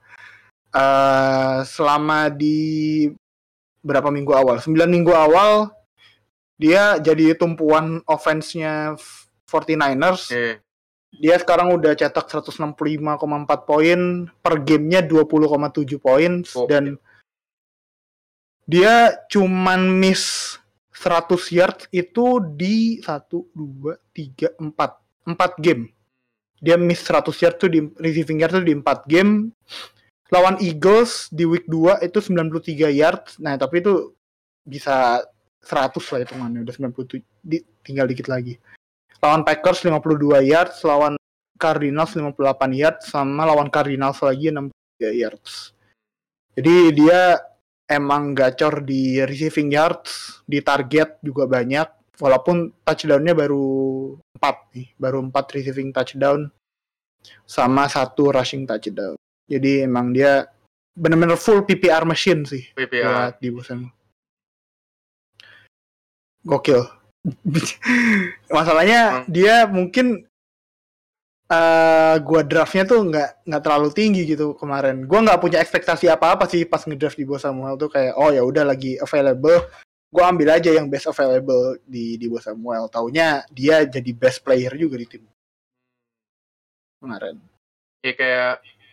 Selama di berapa minggu awal? 9 minggu awal dia jadi tumpuan offense-nya 49ers. Dia sekarang udah cetak 165,4 poin, per gamenya 20,7 poin, dan dia cuman miss 100 yards itu di 1, 2, 3, 4 game. Dia miss 100 yards tuh di receiving yards tuh di 4 game. Lawan Eagles di week 2 itu 93 yards. Nah, tapi itu bisa 100 lah hitungannya, udah 97, tinggal dikit lagi. Lawan Packers 52 yards, lawan Cardinals 58 yards, sama lawan Cardinals lagi 63 yards. Jadi dia emang gacor di receiving yards, di target juga banyak, walaupun touchdown-nya baru 4 nih, baru 4 receiving touchdown sama 1 rushing touchdown. Jadi emang dia benar-benar full PPR machine sih buat di Bosan. Gokil. Masalahnya dia mungkin gua draftnya tuh nggak terlalu tinggi gitu kemarin. Gua nggak punya ekspektasi apa-apa sih pas ngedraft di Bo Samuel tuh, kayak oh ya udah lagi available, gua ambil aja yang best available di Bo Samuel. Taunya dia jadi best player juga di tim kemarin. Ya kayak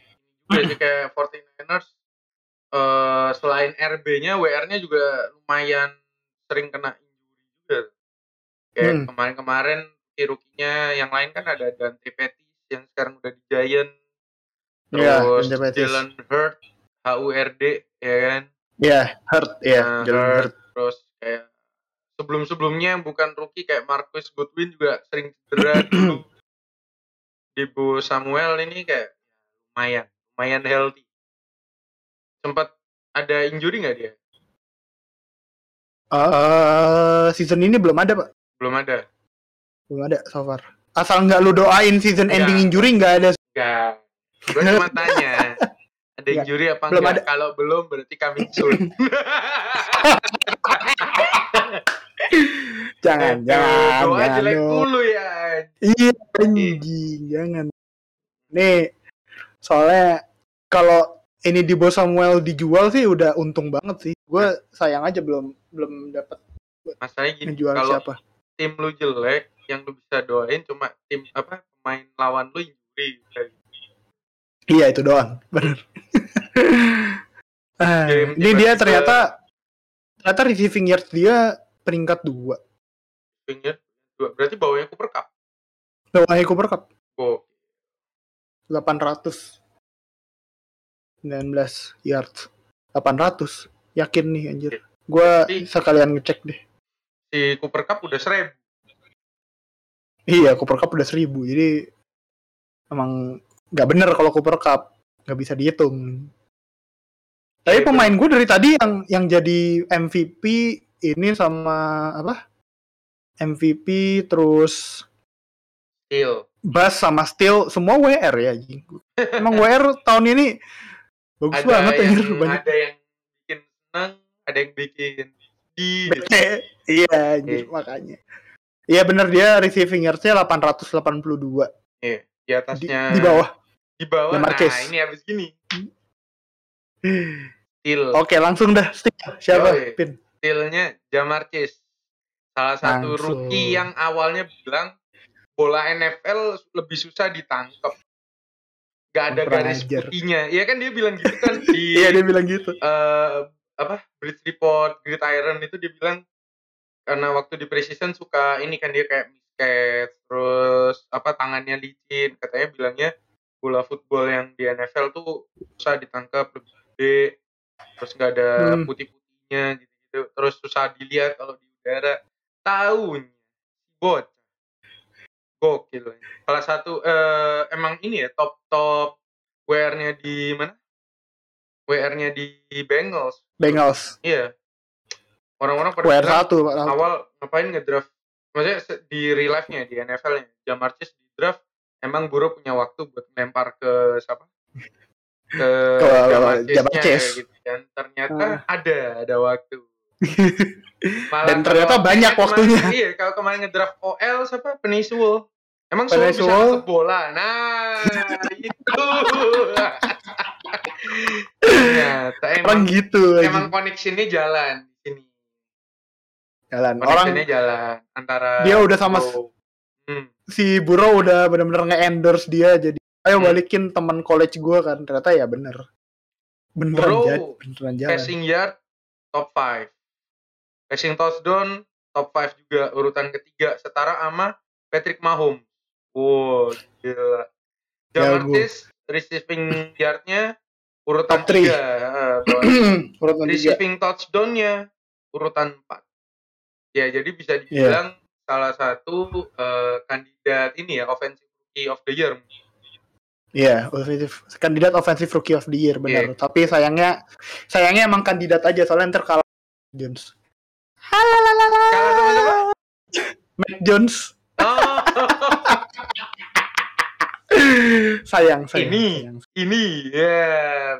49ers selain RB-nya, WR-nya juga lumayan sering kena injury juga. Kayak kemarin-kemarin rookie-nya yang lain kan ada Dante Pettis yang sekarang udah di Giant. Terus Jalen Hurd, HURD, ya kan? Iya, Hurd, ya. Jalen Hurd. Terus kayak sebelum-sebelumnya bukan rookie kayak Marcus Goodwin juga sering cedera dulu. Di Bo Samuel ini kayak lumayan healthy. Sempat ada injury nggak dia? Season ini belum ada, Pak. Belum ada so far. Asal nggak lu doain season ending injury nggak ada. Nggak. Gue cuma tanya, ada injury apa belum enggak? Kalau belum berarti coming soon. jangan. Doa jelek dulu ya. Iya, anjing, jangan. Nih, soalnya kalau ini di Bo Samuel dijual sih udah untung banget sih. Gue sayang aja belum dapat. Masalahnya gini, kalau tim lu jelek, yang lu bisa doain cuma tim pemain lawan lu injury. Iya, itu doang, benar. Ini dia ternyata receiving yards dia peringkat 2. Receiving yards 2, berarti bawahnya Cooper Cup. Oh. 819 yards. 800. Yakin nih anjir. Gua sekalian ngecek deh. Si Cooper Cup udah 1000. Iya, Cooper Cup udah 1000. Jadi emang nggak bener kalau Cooper Cup, nggak bisa dihitung. Tapi pemain gue dari tadi yang jadi MVP ini sama MVP terus Steal. Bass sama Steal semua WR ya. Emang WR tahun ini bagus banget anjir, banyak. Ada yang bikin senang, ada yang bikin iya anjir, makanya. Iya bener, dia receiving yards-nya 882. Iya, di atasnya. Di bawah. Nah, ini habis gini. Steal. Oke, langsung dah. Steal. Siapa? Pin. Steal-nya Ja'Marr Chase. Salah satu rookie yang awalnya bilang bola NFL lebih susah ditangkap. Gak ada garis putihnya. Iya kan dia bilang gitu kan di. Iya, dia bilang gitu. Blitz Report Gridiron itu dia bilang karena waktu di preseason suka ini kan dia kayak miscatch, terus tangannya licin, katanya bilangnya bola football yang di NFL tuh susah ditangkap, lebih gede, terus nggak ada putih-putihnya gitu, terus susah dilihat kalau di udara. Taunya bot gokil. Salah satu emang ini ya top WR-nya di mana? WR-nya di Bengals. Iya. Orang-orang pada awal ngapain ngedraft, maksudnya di real life-nya di NFL-nya Ja'Marr Chase di draft, emang Burrow punya waktu buat lempar ke siapa, ke Ja'Marr Chase gitu kan. Ternyata ada waktu. Dan ternyata banyak waktunya. Iya, kalau kemarin ngedraft OL siapa, Penei Sewell, emang Sewell bisa nangkep bola. Nah itu ternyata emang gitu emang koneksinya jalan di sini. Orang jalan antara dia udah sama si Burrow udah benar-benar nge-endorse dia, jadi ayo balikin teman college gue kan. Ternyata ya beneran jalan. Passing yard top 5, passing touchdown top 5 juga, urutan ketiga setara sama Patrick Mahomes. Wow, gila. Ja'Marr Chase receiving yard-nya urutan top 3. 3, urutan 3. Receiving touchdown-nya urutan 4. Ya, jadi bisa dibilang salah satu kandidat ini ya, Offensive Rookie of the Year. Iya, kandidat Offensive Rookie of the Year, benar. Tapi sayangnya emang kandidat aja, soalnya ntar kalah Jones. Kalah sama siapa? Mac Jones. Oh. sayang. Ini ya.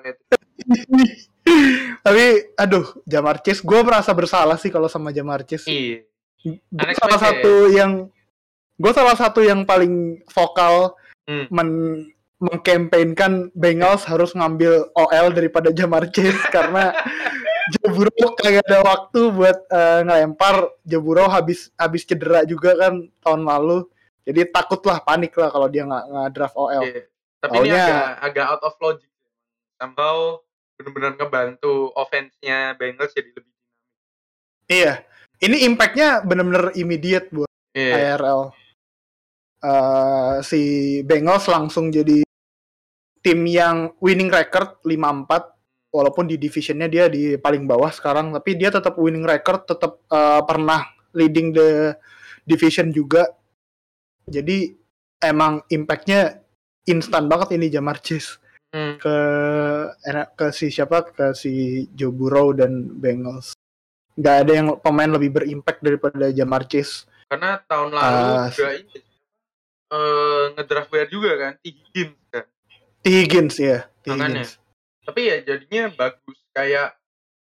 Tapi aduh, Ja'Marr Chase, gue merasa bersalah sih kalau sama Ja'Marr Chase. Iya. Gue salah satu yang paling vokal mengkampanyekan Bengals harus ngambil OL daripada Ja'Marr Chase karena Joe Burrow kagak ada waktu buat ngelempar. Joe Burrow habis cedera juga kan tahun lalu. Jadi takutlah, panik lah kalau dia nggak draft OL. Yeah. Tapi ini agak out of logic. Somehow benar-benar ngebantu offense-nya Bengals jadi lebih dinamis. Iya. Ini impact-nya benar-benar immediate buat IRL. Si Bengals langsung jadi tim yang winning record 5-4. Walaupun di division-nya dia di paling bawah sekarang. Tapi dia tetap winning record. Tetap pernah leading the division juga. Jadi emang impact-nya instan banget ini Ja'Marr Chase ke si Joe Burrow dan Bengals. Nggak ada yang pemain lebih berimpact daripada Ja'Marr Chase. Karena tahun lalu juga ini ngedraft WR juga kan, T. Higgins ya. Makanya. Tapi ya jadinya bagus, kayak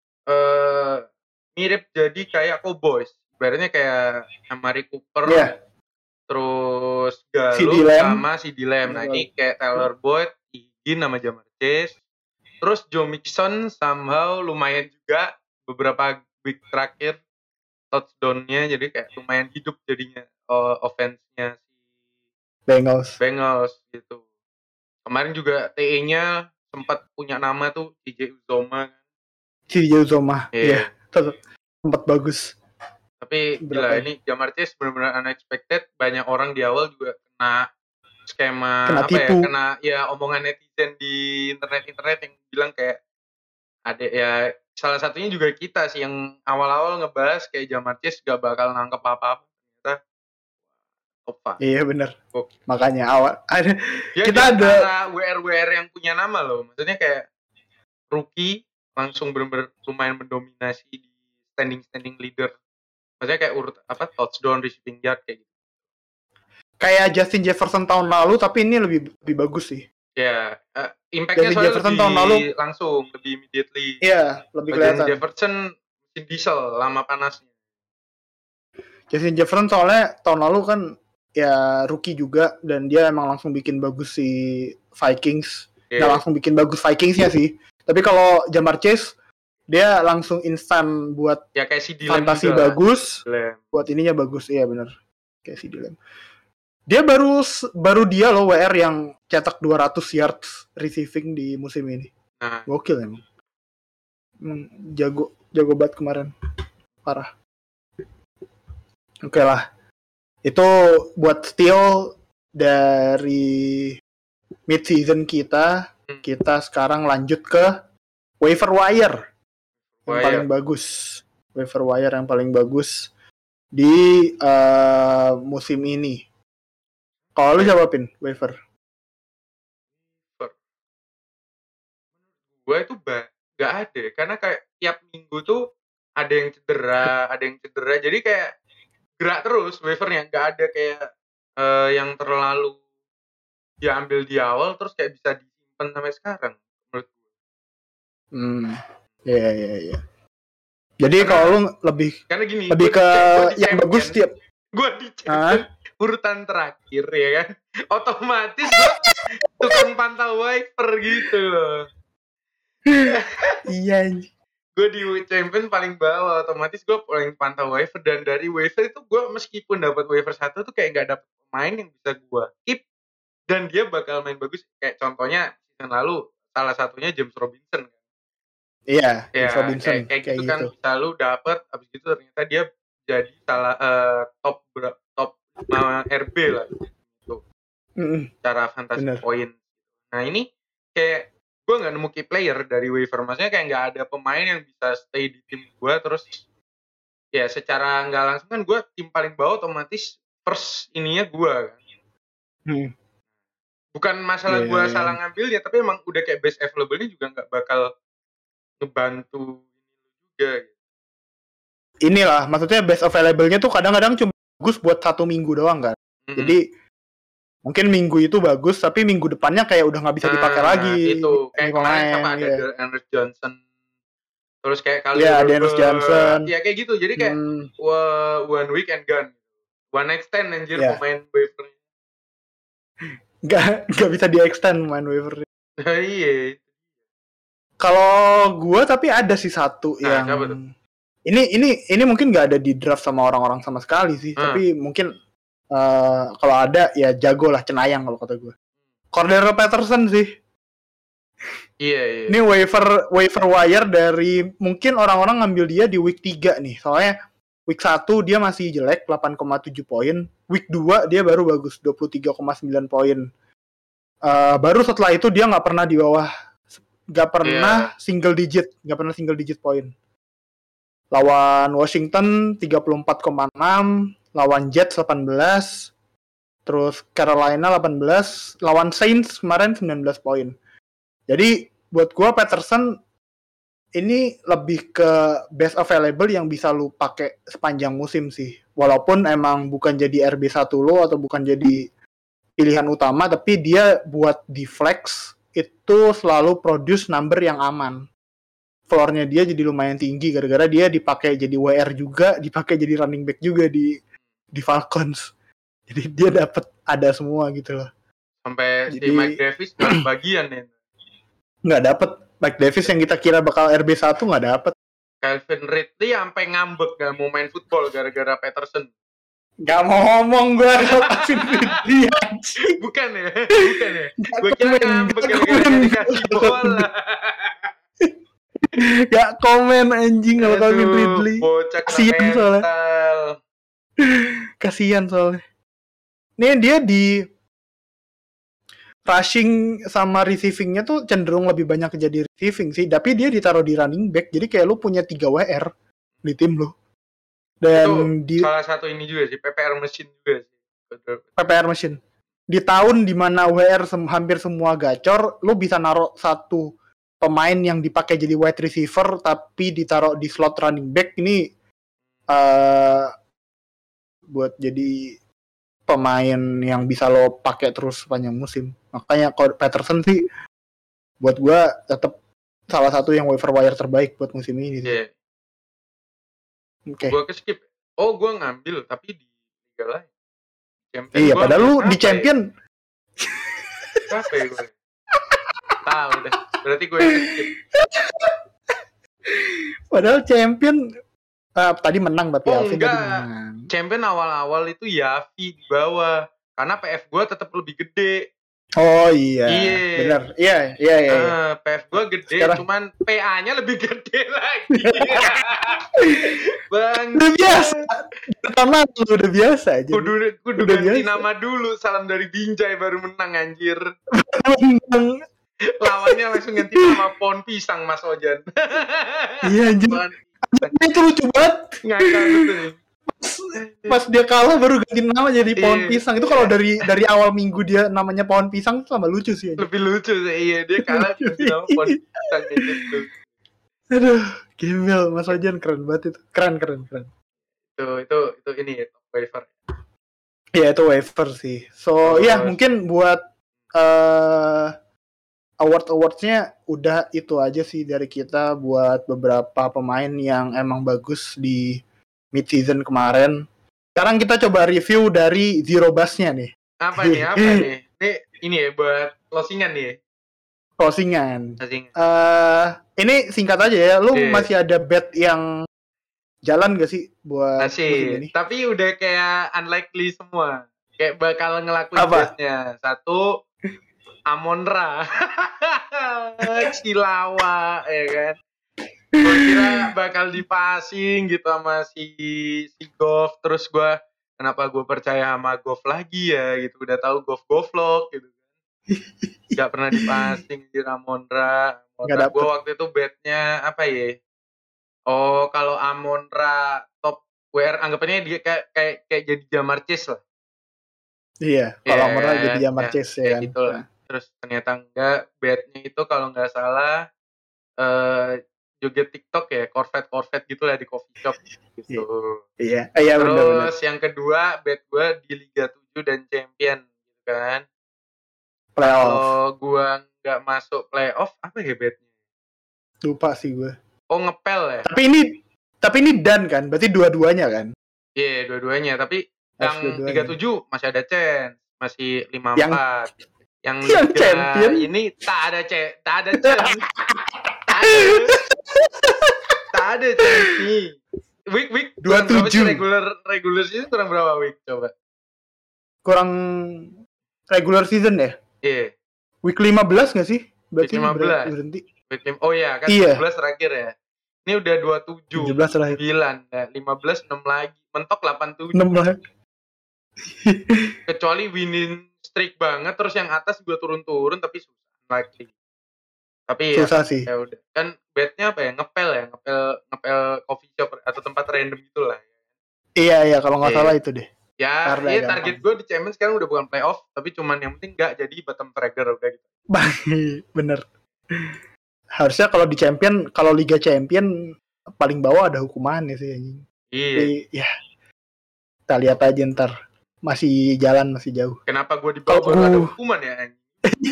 mirip jadi kayak Cowboys. Ibaratnya kayak Amari Cooper. Terus Gallup sama CD Lamb. Nah ini kayak Tyler Boyd, Higgins sama Ja'Marr Chase. Terus Joe Mixon somehow lumayan juga beberapa week terakhir touchdown-nya, jadi kayak lumayan hidup jadinya offense-nya si Bengals gitu. Kemarin juga TE-nya sempat punya nama tuh CJ Uzomah. Iya. Sempat bagus. Tapi gila, ini Ja'Marr Chase benar-benar unexpected. Banyak orang di awal juga kena skema kena omongan netizen di internet yang bilang kayak ada ya, salah satunya juga kita sih yang awal-awal ngebahas kayak Ja'Marr Chase gak bakal nangkep apa-apa. Ternyata top 5. Iya benar. Makanya awal kita ada WR yang punya nama loh. Maksudnya kayak rookie langsung benar-benar lumayan mendominasi di standing leader. Maksudnya kayak touchdown, receiving yard kayak gitu. Kayak Justin Jefferson tahun lalu, tapi ini lebih bagus sih. Ya, impact-nya soalnya Jefferson lebih tahun lalu langsung, lebih immediately. Iya, lebih kelihatan. Jefferson mesin diesel, lama panasnya. Justin Jefferson soalnya tahun lalu kan ya rookie juga, dan dia emang langsung bikin bagus si Vikings. Nggak langsung bikin bagus Vikingsnya sih. Tapi kalau Ja'Marr Chase, dia langsung instan buat ya kayak CD fantasi bagus, buat ininya bagus. Iya benar, kayak CD Lamb. Dia baru dia loh WR yang cetak 200 yards receiving di musim ini. Gokil emang. Jago banget kemarin. Parah. Oke lah. Itu buat steal dari mid-season kita. Kita sekarang lanjut ke waiver wire. Yang paling bagus. Waiver wire yang paling bagus di musim ini. Kalau lu jawabin waiver. Gue itu gak ada, karena kayak tiap minggu tuh ada yang cedera, jadi kayak gerak terus waivernya, gak ada kayak yang terlalu diambil di awal terus kayak bisa disimpan sampai sekarang menurut gue. Iya. Jadi kalau lu lebih ke yang bagus tiap. Gue dicek urutan terakhir ya kan, otomatis gue tukang pantau waiver gitu loh. Iya. Gue di champion paling bawah, otomatis gue paling pantau waiver, dan dari waiver itu gue meskipun dapat waiver 1 tuh kayak nggak dapet pemain yang bisa gue keep dan dia bakal main bagus. Kayak contohnya season lalu salah satunya James Robinson kan. Iya, James Robinson kayak gitu kan, selalu dapet, abis itu ternyata dia jadi top RB lah gitu. Cara fantasy point. Nah ini kayak gue nggak nemu key player dari waiver. Maksudnya kayak nggak ada pemain yang bisa stay di tim gue. Terus ya secara nggak langsung kan gue tim paling bawah otomatis first ininya gue kan. Bukan masalah gue salah ngambil ya, tapi emang udah kayak best available-nya juga nggak bakal ngebantu juga gitu. Inilah maksudnya best available-nya tuh kadang-kadang cuma bagus buat 1 minggu doang kan. Jadi mungkin minggu itu bagus, tapi minggu depannya kayak udah nggak bisa dipakai lagi. Itu kayak kemarin sama ada Darius Johnson, terus kayak kali Darius Johnson, ya kayak gitu. Jadi kayak one week and gone, one extend anjir pemain waiver-nya. Nggak bisa di extend main waiver. Iya. Kalau gue tapi ada sih satu yang ini mungkin nggak ada di draft sama orang-orang sama sekali sih, tapi mungkin kalau ada ya jago lah, cenayang kalau kata gue. Cordero Patterson sih. Iya. Ini waiver wire dari mungkin orang-orang ngambil dia di week 3 nih. Soalnya week 1 dia masih jelek 8,7 poin. Week 2 dia baru bagus 23,9 poin. Baru setelah itu dia nggak pernah di bawah, nggak pernah single digit poin. Lawan Washington 34,6, lawan Jets 18, terus Carolina 18, lawan Saints kemarin 19 poin. Jadi buat gua Patterson ini lebih ke best available yang bisa lu pakai sepanjang musim sih. Walaupun emang bukan jadi RB1 lo atau bukan jadi pilihan utama, tapi dia buat di flex itu selalu produce number yang aman. Floor-nya dia jadi lumayan tinggi gara-gara dia dipakai jadi WR juga, dipakai jadi running back juga di Falcons. Jadi dia dapat ada semua gitu loh. Sampai si Mike Davis nggak bagian ya. Nggak dapat. Mike Davis yang kita kira bakal RB1 nggak dapat. Calvin Ridley sampai ngambek nggak mau main football gara-gara Patterson. Gak mau ngomong gue Calvin Ridley. Bukan ya. Gue kira ngambek gara-gara dikasih bola. Gak komen anjing kalau Calvin Ridley. Kasian soalnya. Nih dia di rushing sama receiving-nya tuh cenderung lebih banyak jadi receiving sih, tapi dia ditaruh di running back. Jadi kayak lu punya 3 WR di tim lu. Dan itu salah satu ini juga sih, PPR machine juga sih. PPR machine. Di tahun dimana WR hampir semua gacor, lu bisa naruh satu pemain yang dipakai jadi wide receiver tapi ditaruh di slot running back ini buat jadi pemain yang bisa lo pakai terus sepanjang musim. Makanya kalau Patterson sih buat gua tetap salah satu yang waiver wire terbaik buat musim ini. Iya. Gua skip. Oh, gua ngambil tapi di liga lain. Champion iya, padahal lu di champion. Apa ya gue? Tahu deh. Berarti gue skip. Padahal champion tadi menang tapi Alvin tadi menang. Champion awal-awal itu Yavi di bawah. Karena PF gue tetap lebih gede. Oh iya. Benar. Iya. PF gue gede, cuman PA-nya lebih gede lagi. Bang. Udah biasa. Pertama udah biasa aja. Kudu ganti nama dulu. Salam dari Binjai baru menang anjir. Lawannya langsung ganti nama pohon pisang Mas Ojan. Iya anjir. Itu lucu banget. Ngakak betul. Pas dia kalah baru ganti nama jadi pohon pisang. Itu kalau dari awal minggu dia namanya pohon pisang itu sama lucu sih. Lebih lucu sih. Iya, dia kalah ganti nama pohon pisang gitu. Aduh, gembel Mas Ojan keren banget itu. Keren. Itu ini waiver. Iya, itu waiver sih. So, ya mungkin buat award-nya udah itu aja sih dari kita buat beberapa pemain yang emang bagus di mid-season kemarin. Sekarang kita coba review dari Zero Bus-nya nih. Apa nih? Ini ya buat closingan nih. Closingan. Ini singkat aja ya. Lu masih ada bet yang jalan gak sih buat musim ini? Tapi udah kayak unlikely semua. Kayak bakal ngelakuin betnya. 1 Amon-Ra. Cilawa ya kan. Gue kira bakal dipasing gitu sama si Goff. Terus kenapa gue percaya sama Goff lagi ya gitu. Udah tahu Goff vlog gitu kan. Gak pernah dipasing di Ramondra. Nggak Gue dapet. waktu itu betnya apa ya? Oh, kalau Amonra top WR anggapannya dia kayak jadi Jamar Chase lah. Iya, Iya kalau Amonra jadi kan? Jamar Ya, Chase ya kayak kan. gitulah. Terus ternyata enggak, betnya itu kalau nggak salah joget TikTok ya, Corvette gitu lah di coffee shop gitu. Iya, iya benar-benar. Terus yang kedua bet gue di Liga 7 dan Champion gitu kan. Playoff. Kalau gue nggak masuk playoff, apa ya betnya? Lupa sih gue. Oh, ngepel ya? Tapi ini dan kan, berarti dua-duanya kan? Iya, yeah, dua-duanya. Tapi Harus yang Liga dua-duanya. 7 masih ada chance, masih 5-4. Yang Yang Liga champion ini tak ada chance. Tak ada chance nih. Week 27. Regular season kurang berapa week coba? Kurang regular season ya? Iya. Yeah. Week 15 nggak sih? Berarti week 15. Berhenti. Oh iya, kan iya. 17 terakhir ya. Ini udah 27, 17 terakhir. 9, ya, 15, 6 lagi. Mentok 87. 6 lagi. Kecuali winning streak banget, terus yang atas juga turun-turun, tapi susah lagi. Tapi susah sih. Ya udah. Kan betnya apa ya? Ngepel coffee shop atau tempat random gitulah. Iya, kalau nggak salah itu deh. Ya, target gue di Champions sekarang udah bukan playoff, tapi cuman yang penting nggak jadi bottom tracker udah gitu. Bener. Harusnya kalau di Champion, kalau Liga Champion paling bawah ada hukumannya sih anjing. Iya. Tapi, ya. Kita lihat aja ntar. Masih jalan, masih jauh. Kenapa gue di bawah baru ada hukuman ya anjing?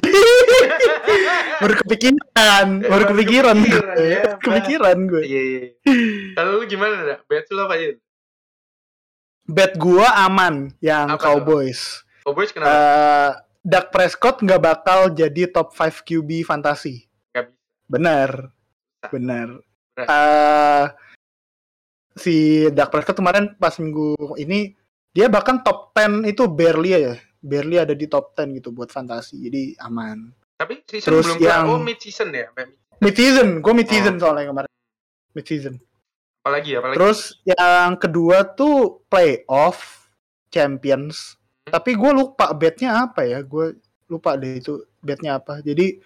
baru kepikiran gue. Iya. Kalau lu gimana dah? Bet lu apa aja? Bet gue aman yang apa Cowboys. Cowboys kenapa? Dak Prescott nggak bakal jadi top 5 QB fantasi. Gak bisa. Benar. Si Dak Prescott kemarin pas minggu ini dia bahkan top 10 itu barely ada di top 10 gitu buat fantasi, jadi aman. Tapi season terus belum mid season ya? Mid season, gue mid season soalnya kemarin. Mid season. Apalagi? Terus yang kedua tuh playoff Champions. Tapi gue lupa betnya apa ya? Gue lupa deh itu betnya apa. Jadi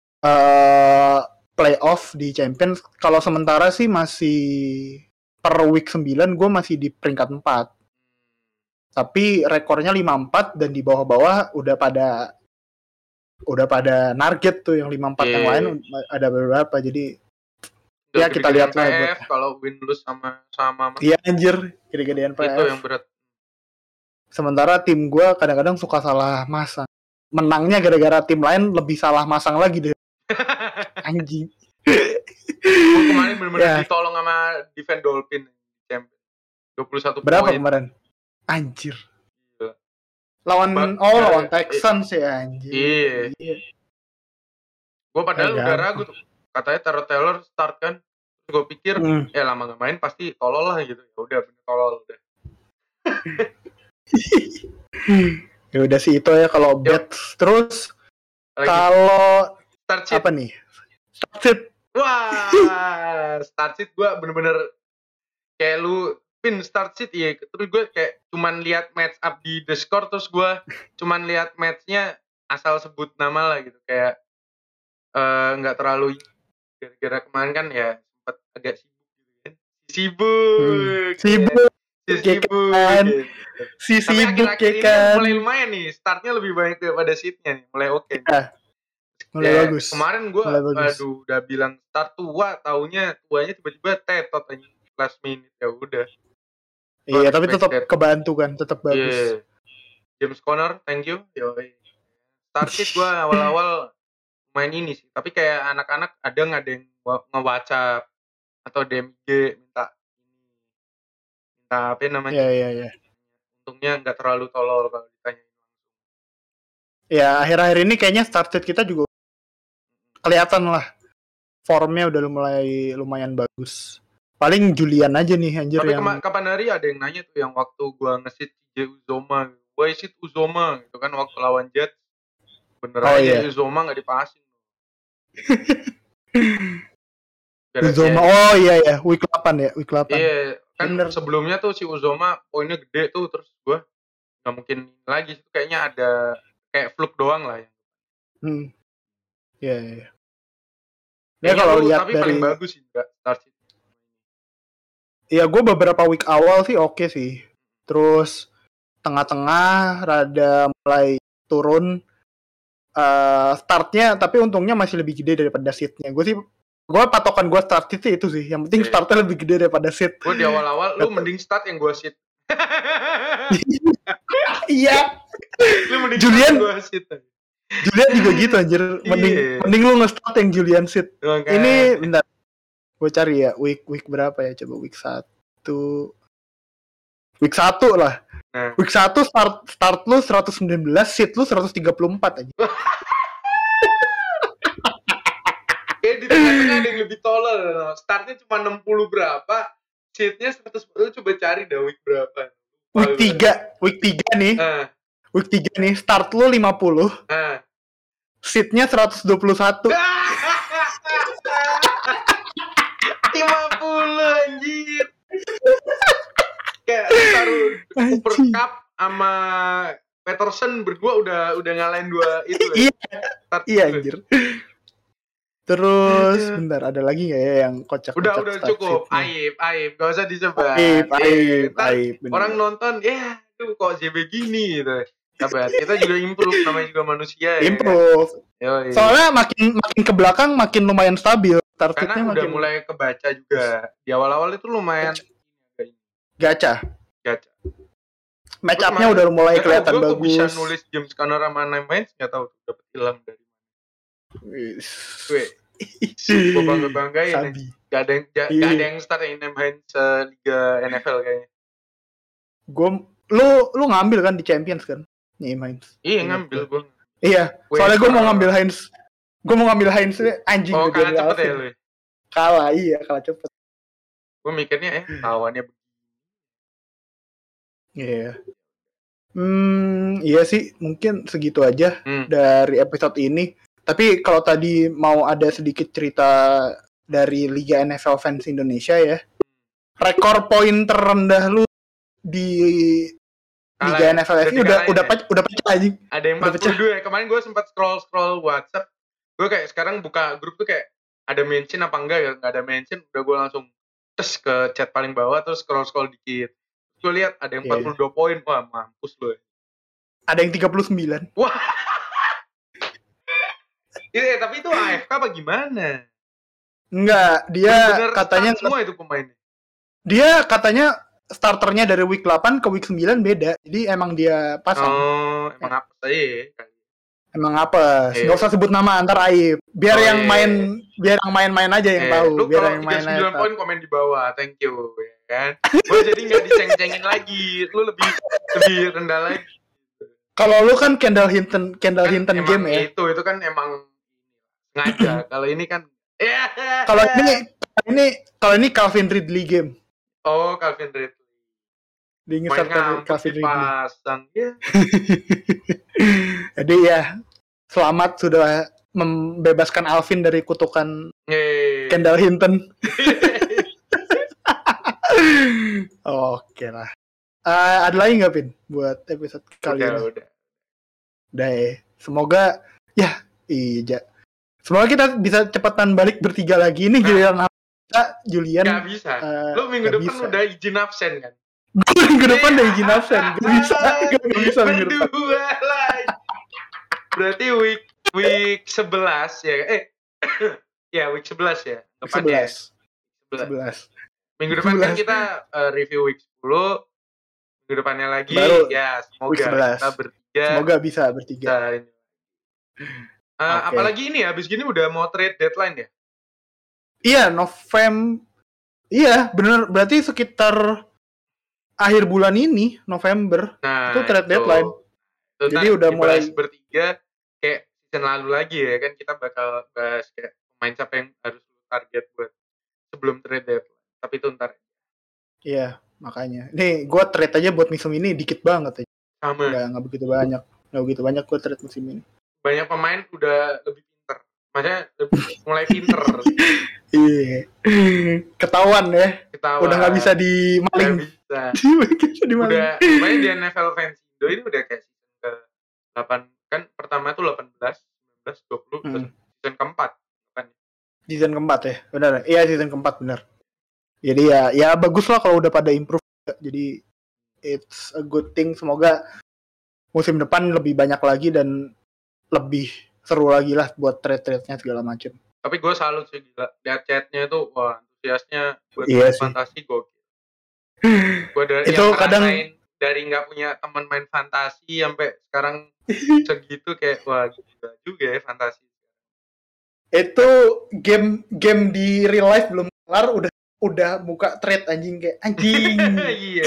playoff di Champions. Kalau sementara sih masih per week 9 gue masih di peringkat 4. Tapi rekornya 5-4 dan di bawah-bawah udah pada target tuh yang 5-4 yang lain ada beberapa. Jadi ya kita lihat lah kalau win lose sama iya anjir, gede-gedean PF. Itu yang berat. Sementara tim gue kadang-kadang suka salah masang. Menangnya gara-gara tim lain lebih salah masang lagi deh. Anjing. Gue kemarin benar-benar ditolong sama defense Dolphin. 21 berapa poin. Kemarin? Anjir. Lawan Texans ya anjir. Iya. Gue padahal udah ragu tuh. Katanya Taylor start kan. Gue pikir lama gak main pasti tolol lah gitu. Ya udah bener tolol udah. Ya udah sih itu ya kalau bet. Terus kalau apa nih? Startsheet. Wah, startsheet gue bener-bener kayak lu pin startsheet ya. Terus gue kayak cuman lihat match up di The Score, terus gue cuman lihat matchnya asal sebut nama lah gitu, kayak nggak terlalu gara-gara kemarin kan ya sempat agak sibuk gitu kan. Sibuk akhir-akhir ini mulai lumayan nih, startnya lebih banyak daripada seatnya nih, mulai oke. Mulai bagus. Kemarin gue udah bilang start tuanya tiba-tiba tetot aja last minute, ya udah. Iya, tapi tetap kebantu kan, tetap bagus. James Conner, thank you. Started gue awal-awal main ini sih, tapi kayak anak-anak ada yang nge-WhatsApp atau DMG minta apa namanya? Iya. Untungnya nggak terlalu tolol kalau ditanya. Ya, akhir-akhir ini kayaknya started kita juga kelihatan lah. Formnya udah mulai lumayan bagus. Paling Julian aja nih anjir. Tapi kapan hari ada yang nanya tuh yang waktu gua nge-sit CJ Uzoma. Gua sit Uzoma gitu kan waktu lawan Jets. Bener aja Uzoma gak dipasin. Uzoma, iya, week 8 ya, week 8. Iya, kan sebelumnya tuh si Uzoma poinnya gede tuh, terus gua gak mungkin lagi. Itu kayaknya ada kayak fluke doang lah ya. Ya, ya. Ya kalau lihat tapi dari paling bagus sih enggak start sheet. Ya gue beberapa week awal sih oke sih. Terus tengah-tengah rada mulai turun startnya, tapi untungnya masih lebih gede daripada seatnya. Gue patokan gue start seat itu sih. Yang penting startnya lebih gede daripada seat. Gue di awal-awal lu mending start yang gue seat. Iya. Lu mending Julian gue seat. Julian juga gitu anjir. Mending lu nge-start yang Julian seat. Ini bentar. Gue cari ya week berapa ya, coba week 1 lah. Nah. Week 1 start lu 119, seat lu 134 aja. Kayak di tengah-tengah ada yang lebih tolol. Startnya cuma 60 berapa, seatnya 100. Lu coba cari dah week berapa. Week 3 nih. Week 3 nih, start lu 50. Seatnya 121. 50 anjir. Kayak taruh Cooper Cup sama Peterson berdua udah ngalahin dua itu ya. Iya anjir. Terus bentar, ada lagi nggak ya yang kocak? Udah cukup. Aib, gak usah disebut. Aib. Orang nonton, tuh kok JB gini gitu. Sabar, kita juga improve, namanya juga manusia ya. Improve. Kan? Soalnya makin ke belakang makin lumayan stabil. Karena udah mulai kebaca juga. Di awal-awal itu lumayan gacha. Match up-nya udah mulai kelihatan bagus. Gue bisa nulis James Conner sama Nine nggak tahu dapat ilham dari mana. Gue bangga-banggain. Gak ada yang start yang Nine Liga NFL kayaknya. Lu ngambil kan di Champions kan? Heinz. Iya ngambil gue. Iya. Soalnya gue mau ngambil Heinz. Anjing. Oh kalah cepet ya lu? Kalah cepet. Gue mikirnya lawannya begini. Iya. Iya sih, mungkin segitu aja dari episode ini. Tapi kalau tadi mau ada sedikit cerita dari Liga NFL Fans Indonesia ya. Rekor poin terendah lu di Liga NFL ini udah pecah aja. Ada yang 42 ya. Kemarin gue sempat scroll WhatsApp. Gue kayak sekarang buka grup tuh kayak ada mention apa enggak ya? Enggak ada mention, udah gue langsung tes ke chat paling bawah terus scroll dikit. Gue lihat ada yang 42 poin. Wah, mampus lu ya. Ada yang 39. Wah. Tapi itu AFK apa gimana? Enggak, dia bener katanya semua itu pemainnya. Dia katanya starternya dari week 8 ke week 9 beda. Jadi emang dia pasang. Oh, emang apa sih? Emang apa? Enggak usah sebut nama, antar aib. Biar yang main aja yang tahu. Lu biar yang main 39 poin komen di bawah. Thank you, ya kan? Gue jadi enggak diceng-cengin lagi. Lu lebih rendah lagi. Kalau lu kan Kendall Hinton game ya. Itu kan emang ngaca. Kalau ini kan Kalau ini Calvin Ridley game. Oh, Calvin Ridley. Diingat Calvin Ridley. Pasang ya. Jadi ya, selamat sudah membebaskan Alvin dari kutukan Kendall Hinton. Oke lah. Ada lagi nggak, Pin, buat episode kali ini? Udah ya. Semoga semoga kita bisa cepetan balik bertiga lagi nih. Giliran Julian nggak bisa. Lu minggu depan udah izin absen kan? Minggu depan udah izin absen. Gak bisa minggu depan. Berdua lagi. Berarti week 11 ya? Ya week 11 ya? 11. Minggu depan kan kita review week 10. Minggu depannya lagi baru, ya semoga kita bertiga. Semoga bisa bertiga. Apalagi ini habis gini udah mau trade deadline ya? Iya, Iya, bener. Berarti sekitar akhir bulan ini, November, itu trade deadline. Jadi udah mulai bertiga kayak season lalu lagi ya kan, kita bakal bahas kayak pemain siapa yang harus target buat sebelum trade deadline. Tapi itu ntar. Iya, makanya. Nih, gue trade aja buat musim ini dikit banget aja. Sama. Nggak begitu banyak. Nggak begitu banyak gue trade musim ini. Banyak pemain udah lebih pinter. Maksudnya mulai pinter. Iya. Ketahuan ya. Udah nggak bisa dimaling. Nggak bisa. Udah, main di NFL Fans Indo ini udah kayak season ke 8. Kan pertama tuh 18, 20, season keempat kan? Season keempat ya, benar. Iya season keempat benar. Jadi ya bagus lah kalau udah pada improve. Jadi it's a good thing. Semoga musim depan lebih banyak lagi dan lebih seru lagi lah buat trade-nya segala macam. Tapi gue salut sih gila. Lihat chatnya tuh, wah antusiasnya buat fantasi gokil. Gue dari itu kadang dari nggak punya teman main fantasi sampai sekarang segitu kayak wah gila juga ya fantasi. Itu game di real life belum kelar udah buka trade anjing kayak anjing. Iya.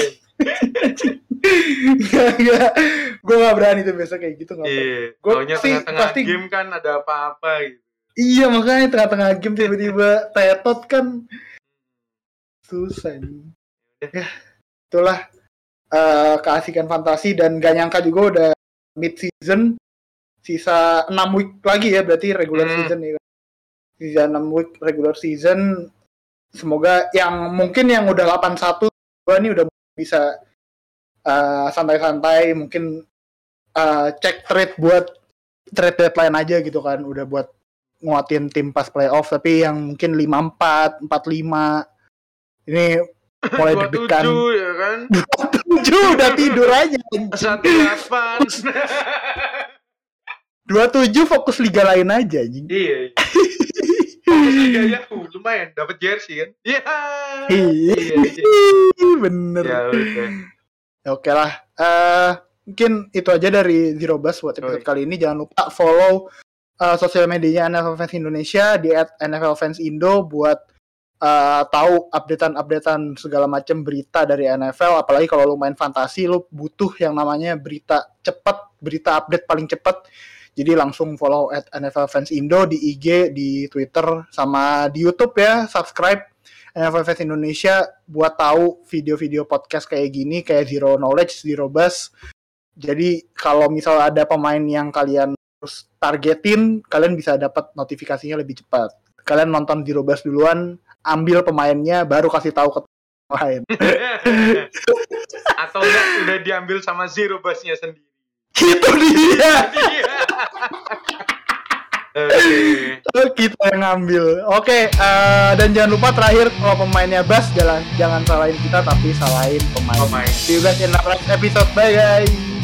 Enggak. Gue gak berani tuh biasa kayak gitu nggak. Iya. Gue tengah-tengah game kan ada apa-apa gitu. Iya makanya tengah-tengah game tiba-tiba tetot kan susah nih. Ya, itulah keasikan fantasi dan gak nyangka juga udah mid season, sisa 6 week lagi ya berarti regular season ya. Sisa 6 week regular season. Semoga yang mungkin yang udah 81 ini udah bisa santai-santai mungkin cek trade buat trade deadline aja gitu kan, udah buat nguatin tim pas playoff. Tapi yang mungkin 54, 45 ini mulai deg-degan. 27 ya kan? 27 udah tidur aja. 18. 27 fokus liga lain aja anjing. Iya. Fokus liga ya, lumayan dapat jersey kan? Iya. Bener. Ya udah. Oke lah. Mungkin itu aja dari Zero Buzz buat episode kali ini. Jangan lupa follow sosial medianya NFL Fans Indonesia di @NFLFansIndo buat tahu updatean segala macam berita dari NFL. Apalagi kalau lu main fantasi, lu butuh yang namanya berita cepat, berita update paling cepat. Jadi langsung follow @NFLFansIndo di IG, di Twitter, sama di YouTube ya. Subscribe NFL Fans Indonesia buat tahu video-video podcast kayak gini, kayak Zero Knowledge, Zero Buzz. Jadi kalau misal ada pemain yang kalian harus targetin, kalian bisa dapat notifikasinya lebih cepat. Kalian nonton Zero Buzz duluan, ambil pemainnya, baru kasih tahu ke lain. Atau enggak udah diambil sama Zero Buzz-nya sendiri. Itu dia. Kita yang ngambil. Oke, dan jangan lupa terakhir kalau pemainnya Bas jangan salahin kita tapi salahin pemain. See you guys in the next episode. Bye guys.